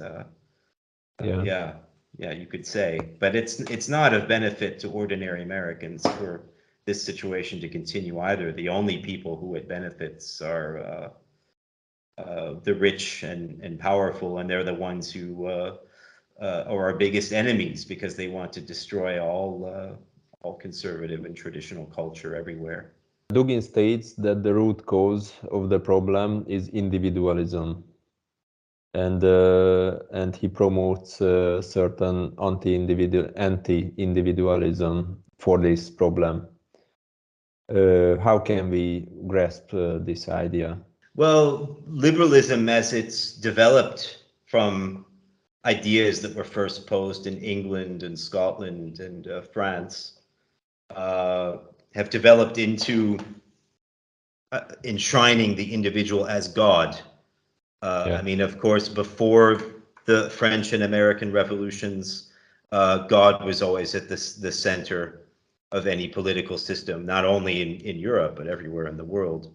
yeah, you could say. But it's not of benefit to ordinary Americans for this situation to continue either. The only people who it benefits are the rich and powerful, and they're the ones who are our biggest enemies because they want to destroy all conservative and traditional culture everywhere. Dugin states that the root cause of the problem is individualism, and he promotes certain anti-individualism for this problem. How can we grasp this idea? Well, liberalism, as it's developed from ideas that were first posed in England and Scotland and France, have developed into enshrining the individual as God. I mean, of course, before the French and American revolutions, God was always at the center of any political system, not only in Europe, but everywhere in the world.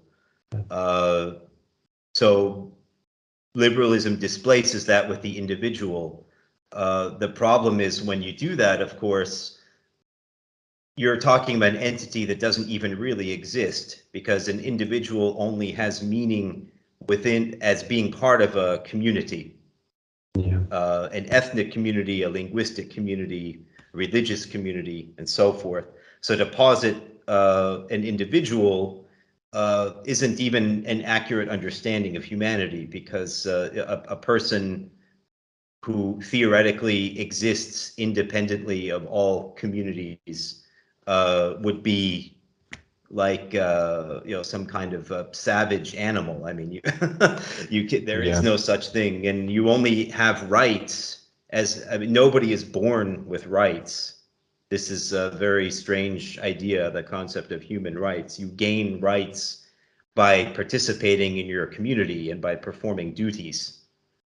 So liberalism displaces that with the individual. The problem is when you do that, of course, you're talking about an entity that doesn't even really exist, because an individual only has meaning within as being part of a community, an ethnic community, a linguistic community, a religious community, and so forth. So to posit an individual isn't even an accurate understanding of humanity, because a person who theoretically exists independentget of all communities would be like some kind of savage animal. I mean, there is no such thing, and you only have rights nobody is born with rights. This is a very strange idea, the concept of human rights. You gain rights by participating in your community and by performing duties.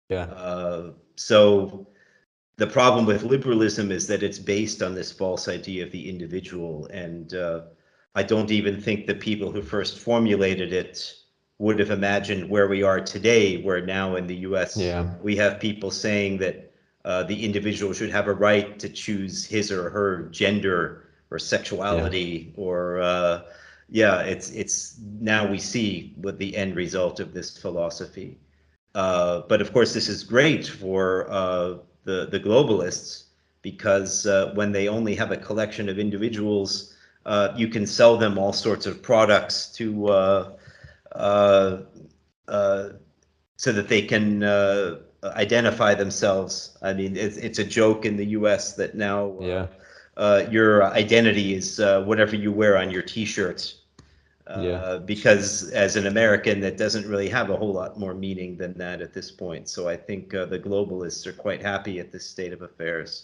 So the problem with liberalism is that it's based on this false idea of the individual, and I don't even think the people who first formulated it would have imagined where we are today, where now in the US we have people saying that the individual should have a right to choose his or her gender or sexuality, or it's now we see what the end result of this philosophy. But of course, this is great for the globalists, because when they only have a collection of individuals, you can sell them all sorts of products to so that they can identify themselves. I mean, it's a joke in the US that now your identity is whatever you wear on your T-shirts. Because as an American, that doesn't really have a whole lot more meaning than that at this point. So I think the globalists are quite happy at this state of affairs.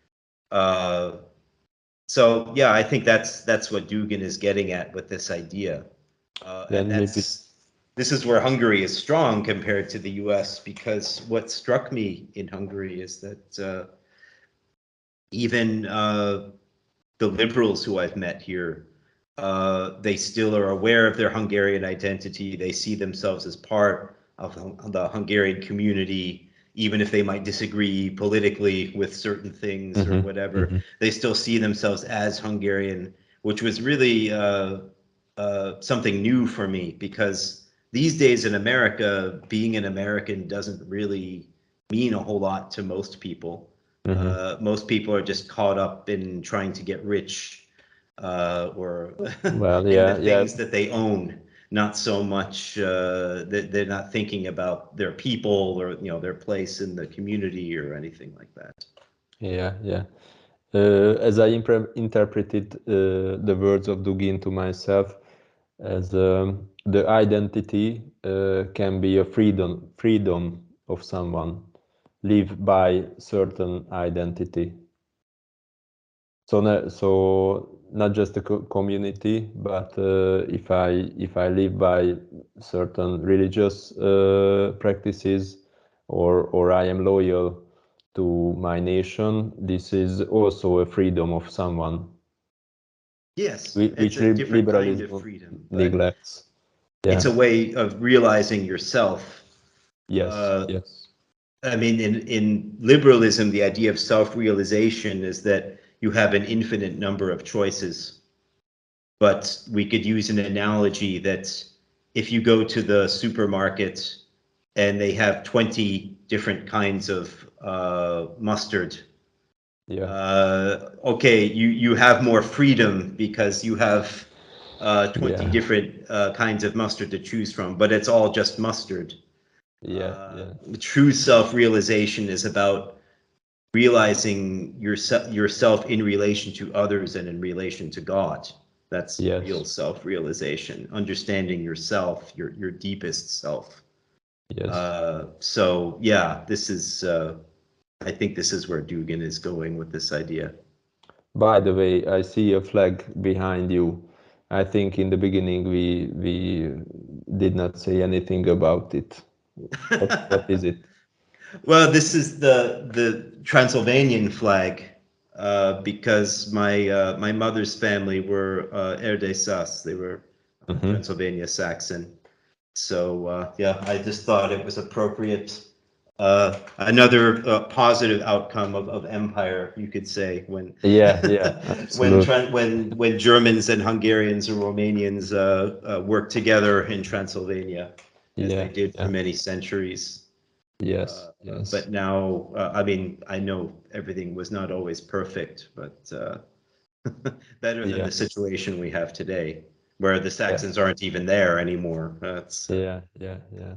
So yeah, I think that's what Dugin is getting at with this idea. And this is where Hungary is strong compared to the US, because what struck me in Hungary is that even the liberals who I've met here, they still are aware of their Hungarian identity. They see themselves as part of the Hungarian community, even if they might disagree politically with certain things or whatever. They still see themselves as Hungarian, which was really something new for me, because these days in America, being an American doesn't really mean a whole lot to most people. Most people are just caught up in trying to get rich, or the things that they own, not so much that they're not thinking about their people or their place in the community or anything like that. Yeah, yeah. As I interpreted the words of Dugin to myself, as the identity can be a freedom of someone, live by certain identity. So not just the community, but if I live by certain religious practices, or I am loyal to my nation, this is also a freedom of someone, Yes, it's which a different kind of liberalism freedom, but neglects. it's Yeah. a way of realizing yourself. Yes. Uh, Yes. I mean, in liberalism, the idea of self-realization is that you have an infinite number of choices. But we could use an analogy that if you go to the supermarket and they have 20 different kinds of mustard, Yeah. okay, you have more freedom because you have 20 Yeah. different kinds of mustard to choose from, but it's all just mustard. Yeah. Yeah. True self-realization is about realizing yourself in relation to others and in relation to God. That's real Yes. self-realization, understanding yourself, your deepest self. Yes. So yeah, this is I think this is where Dugin is going with this idea. By the way, I see a flag behind you. I think in the beginning we did not say anything about it. What is it? Well, this is the Transylvanian flag because my mother's family were Erdőszás. They were Hmm. Transylvania Saxon. So yeah, I just thought it was appropriate. Another positive outcome of empire, you could say, when Yeah, yeah, absolutely. when Germans and Hungarians and Romanians worked together in Transylvania, as they Yeah, did for yeah, many centuries. yes, But yes, now, I mean, I know everything was not always perfect, but better than the yeah, situation we have today, where the yeah, Saxons aren't even there anymore. That's yeah, yeah, yeah.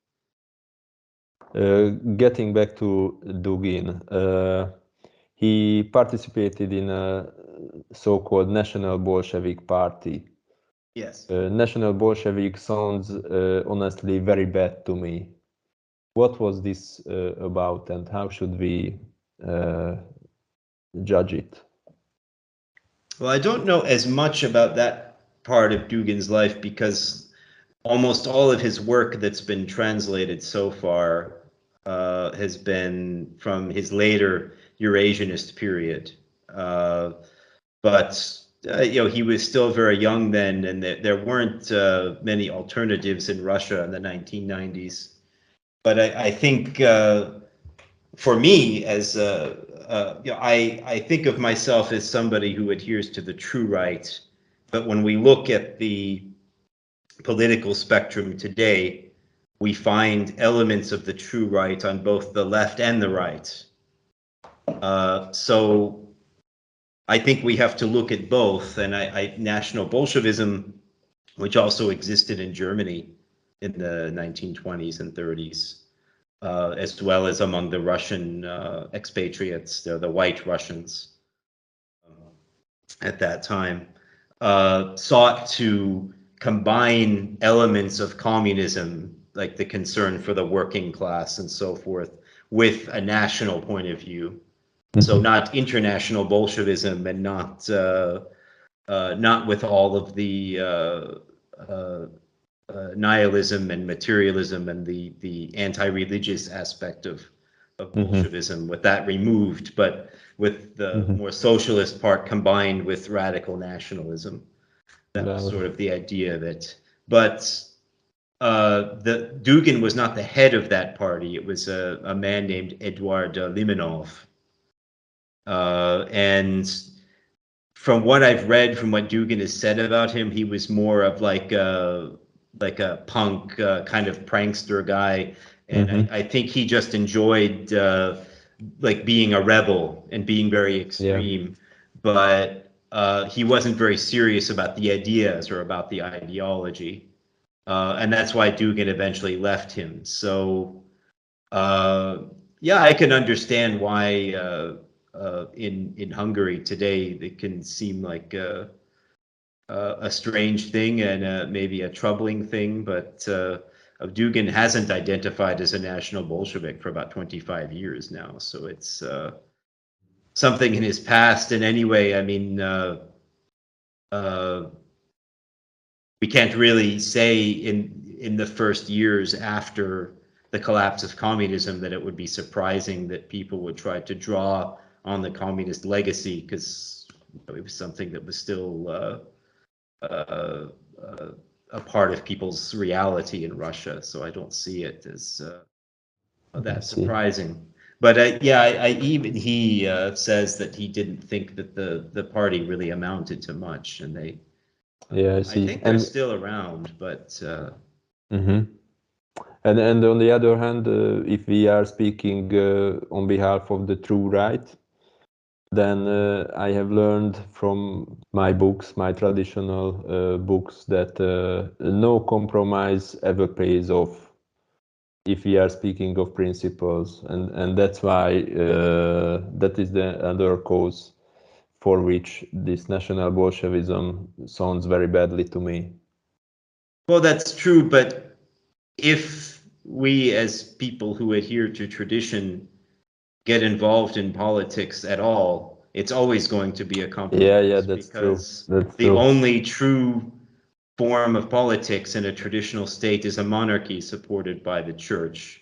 Getting back to Dugin, he participated in a so-called National Bolshevik Party. yes. National Bolshevik sounds honestly very bad to me. What was this about, and how should we uh, judge it? Well, I don't know as much about that part of Dugin's life because almost all of his work that's been translated so far has been from his later Eurasianist period. But he was still very young then, and there weren't many alternatives in Russia in the 1990s. But I think for me, as I think of myself as somebody who adheres to the true right. But when we look at the political spectrum today, we find elements of the true right on both the left and the right. So I think we have to look at both. And National Bolshevism, which also existed in Germany in the 1920s and 30s, as well as among the Russian expatriates, the white Russians at that time, sought to combine elements of communism, like the concern for the working class and so forth, with a national point of view. So Mhm. not international Bolshevism and not with all of the uh, nihilism and materialism and the anti-religious aspect of Mhm. Bolshevism, with that removed, but with the Mhm. more socialist part combined with radical nationalism. That was sort Well, of the idea of it. But the Dugin was not the head of that party. It was a man named Eduard Limonov. And from what I've read, from what Dugin has said about him, he was more of like a punk kind of prankster guy, and mhm. I think he just enjoyed like being a rebel and being very Yeah. extreme, but he wasn't very serious about the ideas or about the ideology, and that's why Dugin eventually left him. So uh, yeah, I can understand why. in Hungary today, it can seem like a strange thing and maybe a troubling thing, but Dugin hasn't identified as a national Bolshevik for about 25 years now, so it's something in his past. And anyway, I mean, we can't really say in the first years after the collapse of communism that it would be surprising that people would try to draw on the communist legacy, because it was something that was still a part of people's reality in Russia. So I don't see it as that surprising. But yeah, even he says that he didn't think that the party really amounted to much, and they, Yeah, I I see. think they're still around, but And on the other hand, if we are speaking on behalf of the true right, then I have learned from my books, my traditional books, that no compromise ever pays off if we are speaking of principles, and that's why that is the other cause for which this National Bolshevism sounds very badly to me. well, that's true. But if we, as people who adhere to tradition, get involved in politics at all, it's always going to be a compromise. Yeah, that's true. Because That's the true. only true form of politics in a traditional state is a monarchy supported by the church.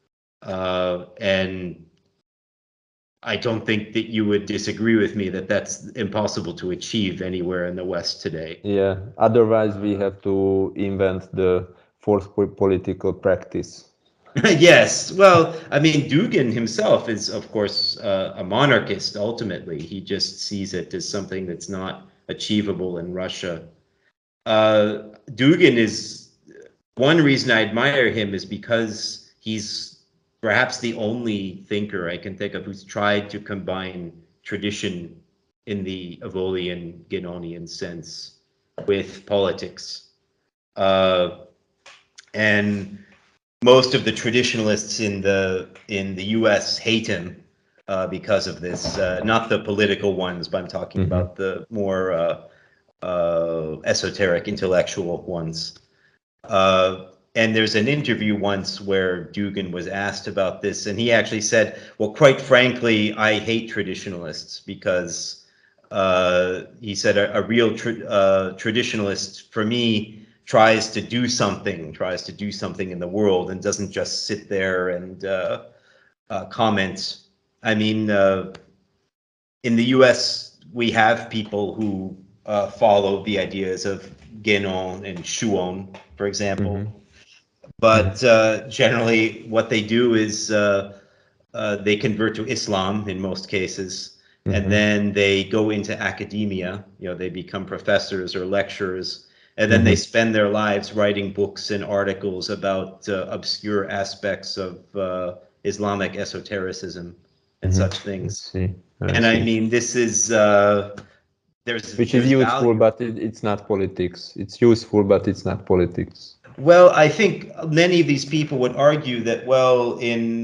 And I don't think that you would disagree with me that that's impossible to achieve anywhere in the West today. Yeah, otherwise we have to invent the forced political practice. Yes, well, I mean, Dugin himself is, of course, a monarchist ultimately. He just sees it as something that's not achievable in Russia. Dugin is, one reason I admire him is because he's perhaps the only thinker I can think of who's tried to combine tradition in the Evolian Guénonian sense with politics. And most of the traditionalists in the U.S. hate him because of this. Not the political ones, but I'm talking about the more esoteric, intellectual ones. And there's an interview once where Dugin was asked about this, and he actually said, "Well, quite frankly, I hate traditionalists because," he said, "a real traditionalist for me tries to do something in the world, and doesn't just sit there and comment." I mean, in the U.S., we have people who follow the ideas of Guénon and Chouon, for example. But generally, what they do is they convert to Islam in most cases, and then they go into academia. You know, they become professors or lecturers, and then they spend their lives writing books and articles about obscure aspects of Islamic esotericism and such things. And I mean, this is Which is there's useful, value. but it's not politics. It's useful, but it's not politics. Well, I think many of these people would argue that, well,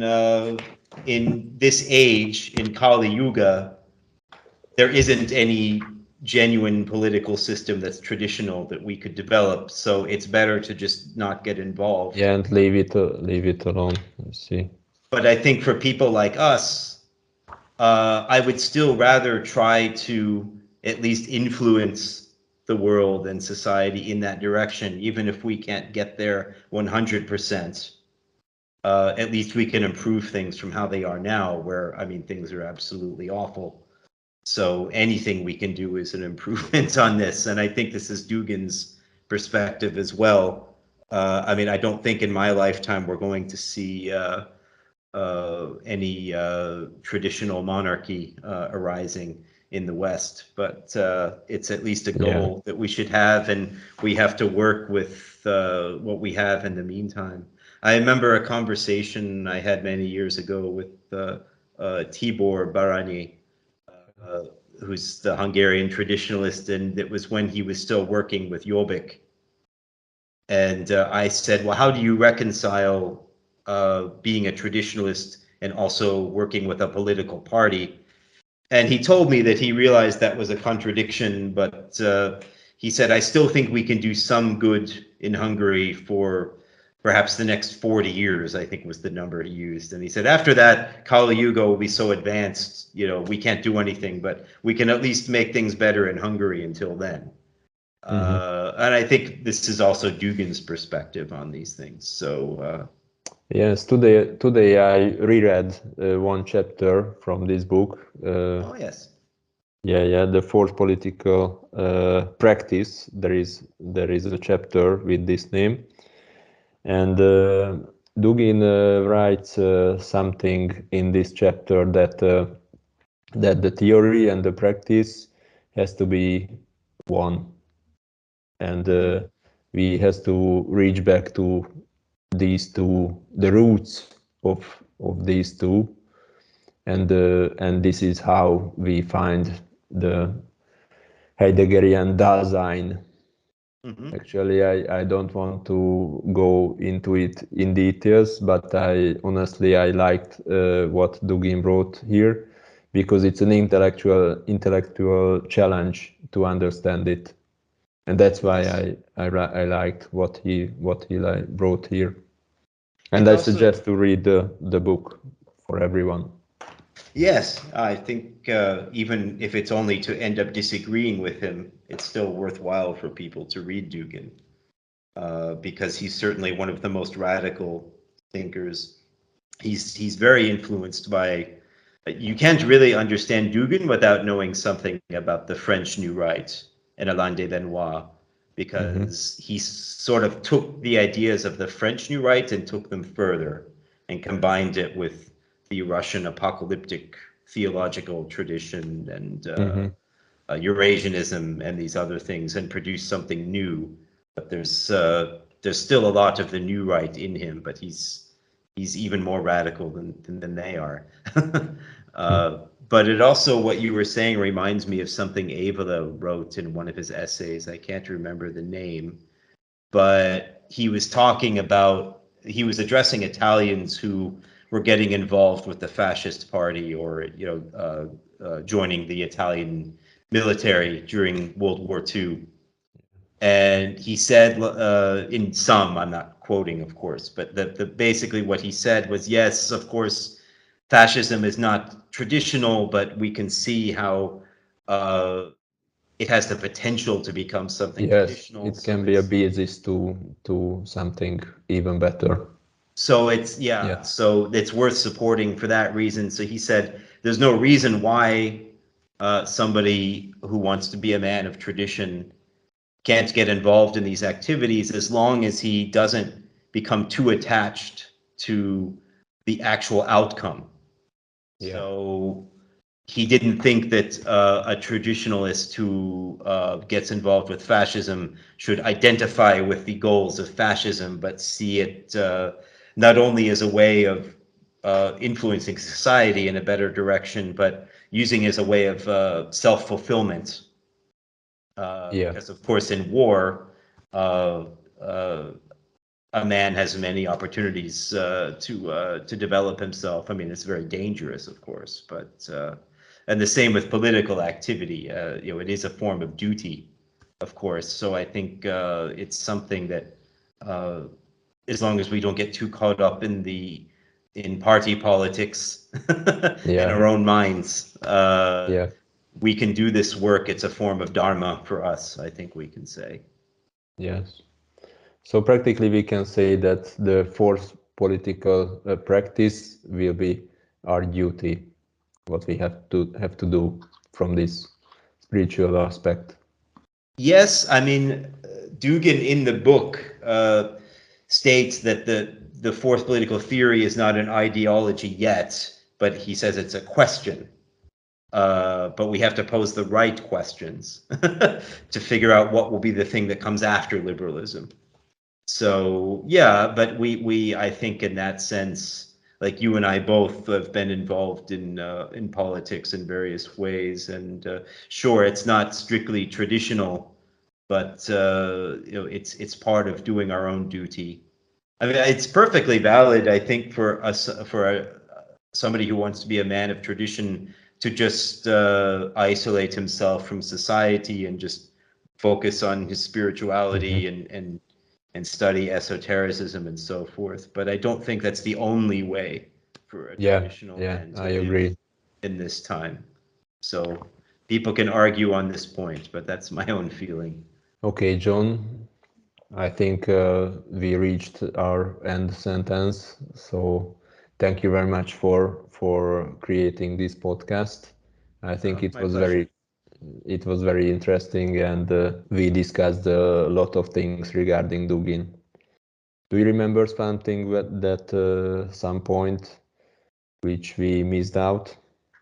in this age, in Kali Yuga, there isn't any genuine political system that's traditional that we could develop. So it's better to just not get involved. Yeah, and leave it alone. I see. But I think for people like us, I would still rather try to at least influence the world and society in that direction, even if we can't get there 100%. At least we can improve things from how they are now, where, I mean, things are absolutely awful. So anything we can do is an improvement on this. And I think this is Dugin's perspective as well. I mean, I don't think in my lifetime we're going to see any traditional monarchy arising in the West, but it's at least a goal that we should have, and we have to work with what we have in the meantime. I remember a conversation I had many years ago with Tibor Barányi, who's the Hungarian traditionalist, and it was when he was still working with Jobbik. And I said, well, how do you reconcile being a traditionalist and also working with a political party? And he told me that he realized that was a contradiction, but he said, I still think we can do some good in Hungary for perhaps the next 40 years, I think was the number he used. And he said, after that, Kali Yuga will be so advanced, we can't do anything, but we can at least make things better in Hungary until then. And I think this is also Dugin's perspective on these things. So yes, today I reread one chapter from this book. oh yes. Yeah, the fourth political practice. There is a chapter with this name, and Dugin writes something in this chapter that the theory and the practice has to be one, and we has to reach back to these two, the roots of these two, and this is how we find the Heideggerian Dasein. Actually, I don't want to go into it in details, but I honestly liked what Dugin wrote here, because it's an intellectual challenge to understand it, and that's why I liked what he wrote here, and I suggest to read the book for everyone. Yes, I think even if it's only to end up disagreeing with him, it's still worthwhile for people to read Dugin, because he's certainly one of the most radical thinkers. He's very influenced by. You can't really understand Dugin without knowing something about the French New Right and Alain de Benoit, because he sort of took the ideas of the French New Right and took them further and combined it with the Russian apocalyptic theological tradition and Eurasianism and these other things, and produced something new. But there's still a lot of the New Right in him, but he's even more radical than they are. But it also, what you were saying reminds me of something Evola wrote in one of his essays. I can't remember the name, but he was addressing Italians who were getting involved with the fascist party, or joining the Italian military during World War II. And he said, in some, I'm not quoting, of course, but basically what he said was, yes, of course, fascism is not traditional, but we can see how it has the potential to become something traditional. Yes, it can be a basis to something even better. So so it's worth supporting for that reason. So he said, there's no reason why somebody who wants to be a man of tradition can't get involved in these activities, as long as he doesn't become too attached to the actual outcome. Yeah. So he didn't think that a traditionalist who gets involved with fascism should identify with the goals of fascism, but see it not only as a way of influencing society in a better direction, but using it as a way of self-fulfillment. Because, of course, in war, a man has many opportunities to develop himself. I mean, it's very dangerous, of course, but and the same with political activity. It is a form of duty, of course. So I think it's something that, as long as we don't get too caught up in party politics in our own minds, we can do this work. It's a form of dharma for us, I think we can say. Yes. So practically we can say that the fourth political practice will be our duty, what we have to do from this spiritual aspect. Yes, I mean, Dugin in the book states that the fourth political theory is not an ideology yet, but he says it's a question. But we have to pose the right questions to figure out what will be the thing that comes after liberalism. So yeah, but we I think in that sense, like you and I both have been involved in politics in various ways, and sure, it's not strictly traditional, but it's part of doing our own duty. I mean, it's perfectly valid, I think, for us, for somebody who wants to be a man of tradition, to just isolate himself from society and just focus on his spirituality and study esotericism and so forth. But I don't think that's the only way for a traditional man to I live agree. in this time. So people can argue on this point, but that's my own feeling. Okay, John, I think we reached our end sentence. So thank you very much for creating this podcast. I think My pleasure. it was very interesting, and we discussed a lot of things regarding Dugin. Do you remember something that some point which we missed out?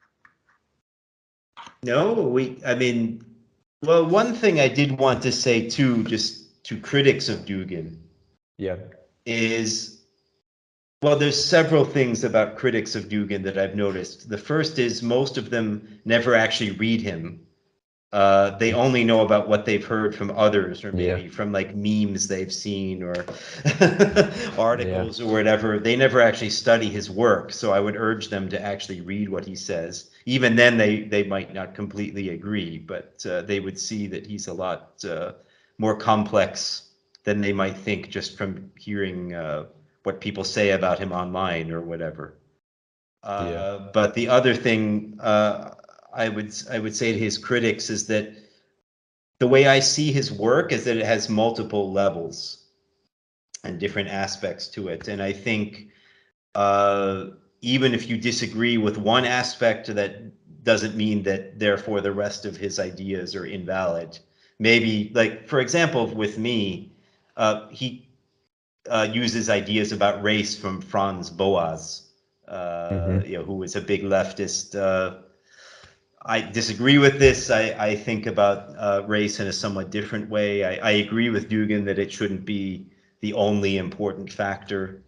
No, I mean, well, one thing I did want to say too, just to critics of Dugin, Yeah. is, well, there's several things about critics of Dugin that I've noticed. The first is most of them never actually read him. They only know about what they've heard from others, or Yeah. maybe from like memes they've seen or Yeah. articles or whatever. They never actually study his work. So I would urge them to actually read what he says. Even then, they might not completely agree, but they would see that he's a lot more complex than they might think just from hearing what people say about him online or whatever. Yeah. But the other thing I would say to his critics is that the way I see his work is that it has multiple levels and different aspects to it. And I think even if you disagree with one aspect, that doesn't mean that therefore the rest of his ideas are invalid. Maybe, like, for example, with me, he uses ideas about race from Franz Boas, who was a big leftist. I disagree with this. I think about race in a somewhat different way. I agree with Dugin that it shouldn't be the only important factor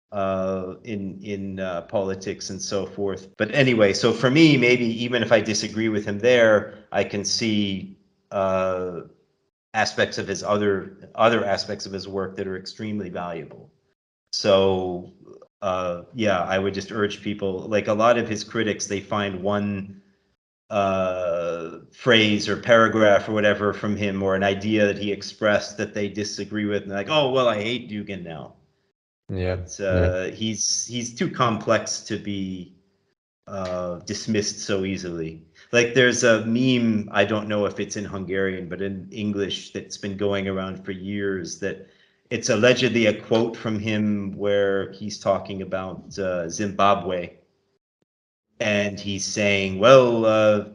in politics and so forth. But anyway, so for me, maybe even if I disagree with him there, I can see aspects of his other aspects of his work that are extremely valuable. So yeah, I would just urge people, like a lot of his critics, they find one phrase or paragraph or whatever from him, or an idea that he expressed that they disagree with, and like, oh well, I hate Dugin now. Yeah. But Yeah. he's too complex to be dismissed so easily. Like there's a meme, I don't know if it's in Hungarian, but in English, that's been going around for years, that it's allegedly a quote from him where he's talking about Zimbabwe, and he's saying, well,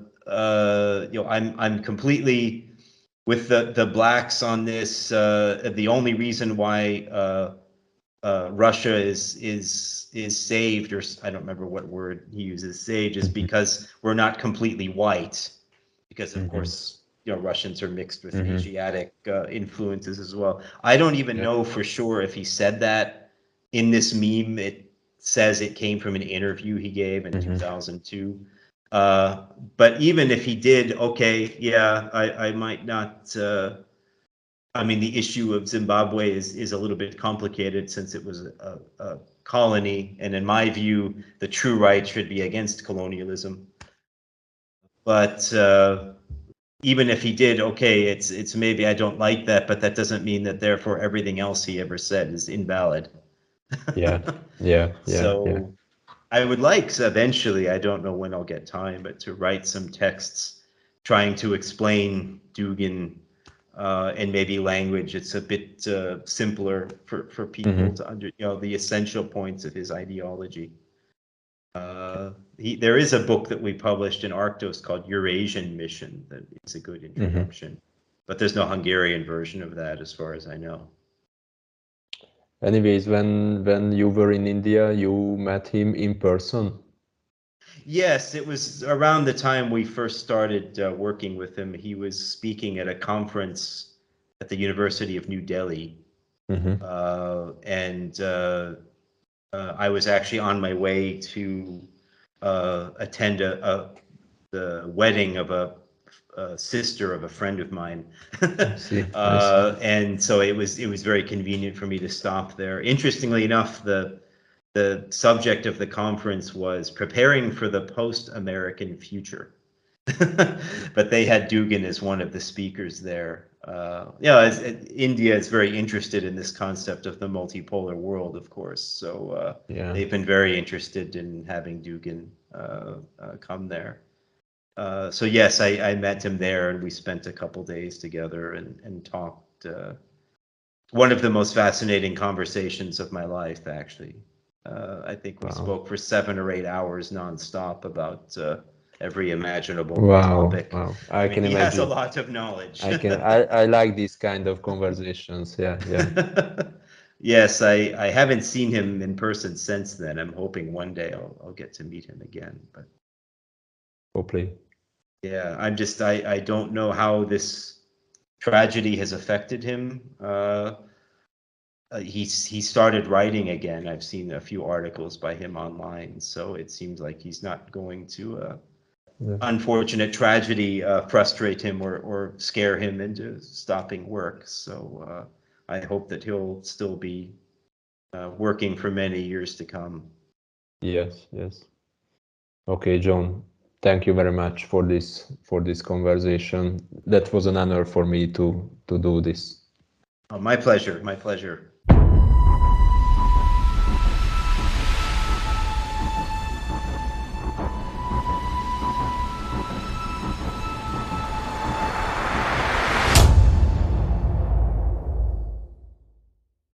I'm completely with the blacks on this. The only reason why Russia is saved, or I don't remember what word he uses, saved, is because we're not completely white, because of course Russians are mixed with Asiatic influences as well. I don't even know for sure if he said that in this meme. It says it came from an interview he gave in 2002. But even if he did, okay, yeah, I might not. I mean, the issue of Zimbabwe is a little bit complicated since it was a colony, and in my view, the true right should be against colonialism. But even if he did, okay, it's maybe I don't like that, but that doesn't mean that therefore everything else he ever said is invalid. Yeah. Yeah. Yeah. Yeah. So I would like eventually, I don't know when I'll get time, but to write some texts trying to explain Dugin and maybe language. It's a bit simpler for people to under, the essential points of his ideology. There is a book that we published in Arctos called Eurasian Mission that is a good introduction, but there's no Hungarian version of that as far as I know. Anyways, when you were in India, you met him in person? Yes, it was around the time we first started working with him. He was speaking at a conference at the University of New Delhi. And I was actually on my way to attend the wedding of a sister of a friend of mine. I see. I see. And so it was very convenient for me to stop there. Interestingly enough, the subject of the conference was preparing for the post-American future. But they had Dugin as one of the speakers there. India is very interested in this concept of the multipolar world, of course. So they've been very interested in having Dugin come there. So yes, I met him there, and we spent a couple days together and talked. One of the most fascinating conversations of my life, actually. I think we spoke for 7 or 8 hours nonstop about every imaginable topic. Wow. I can he imagine. has a lot of knowledge. I like these kind of conversations. Yeah. Yes, I haven't seen him in person since then. I'm hoping one day I'll get to meet him again. But hopefully. Yeah, I don't know how this tragedy has affected him. He started writing again. I've seen a few articles by him online, so it seems like he's not going to unfortunate tragedy frustrate him or scare him into stopping work. So I hope that he'll still be working for many years to come. Yes. Okay, John. Thank you very much for this conversation. That was an honor for me to do this. Oh, my pleasure.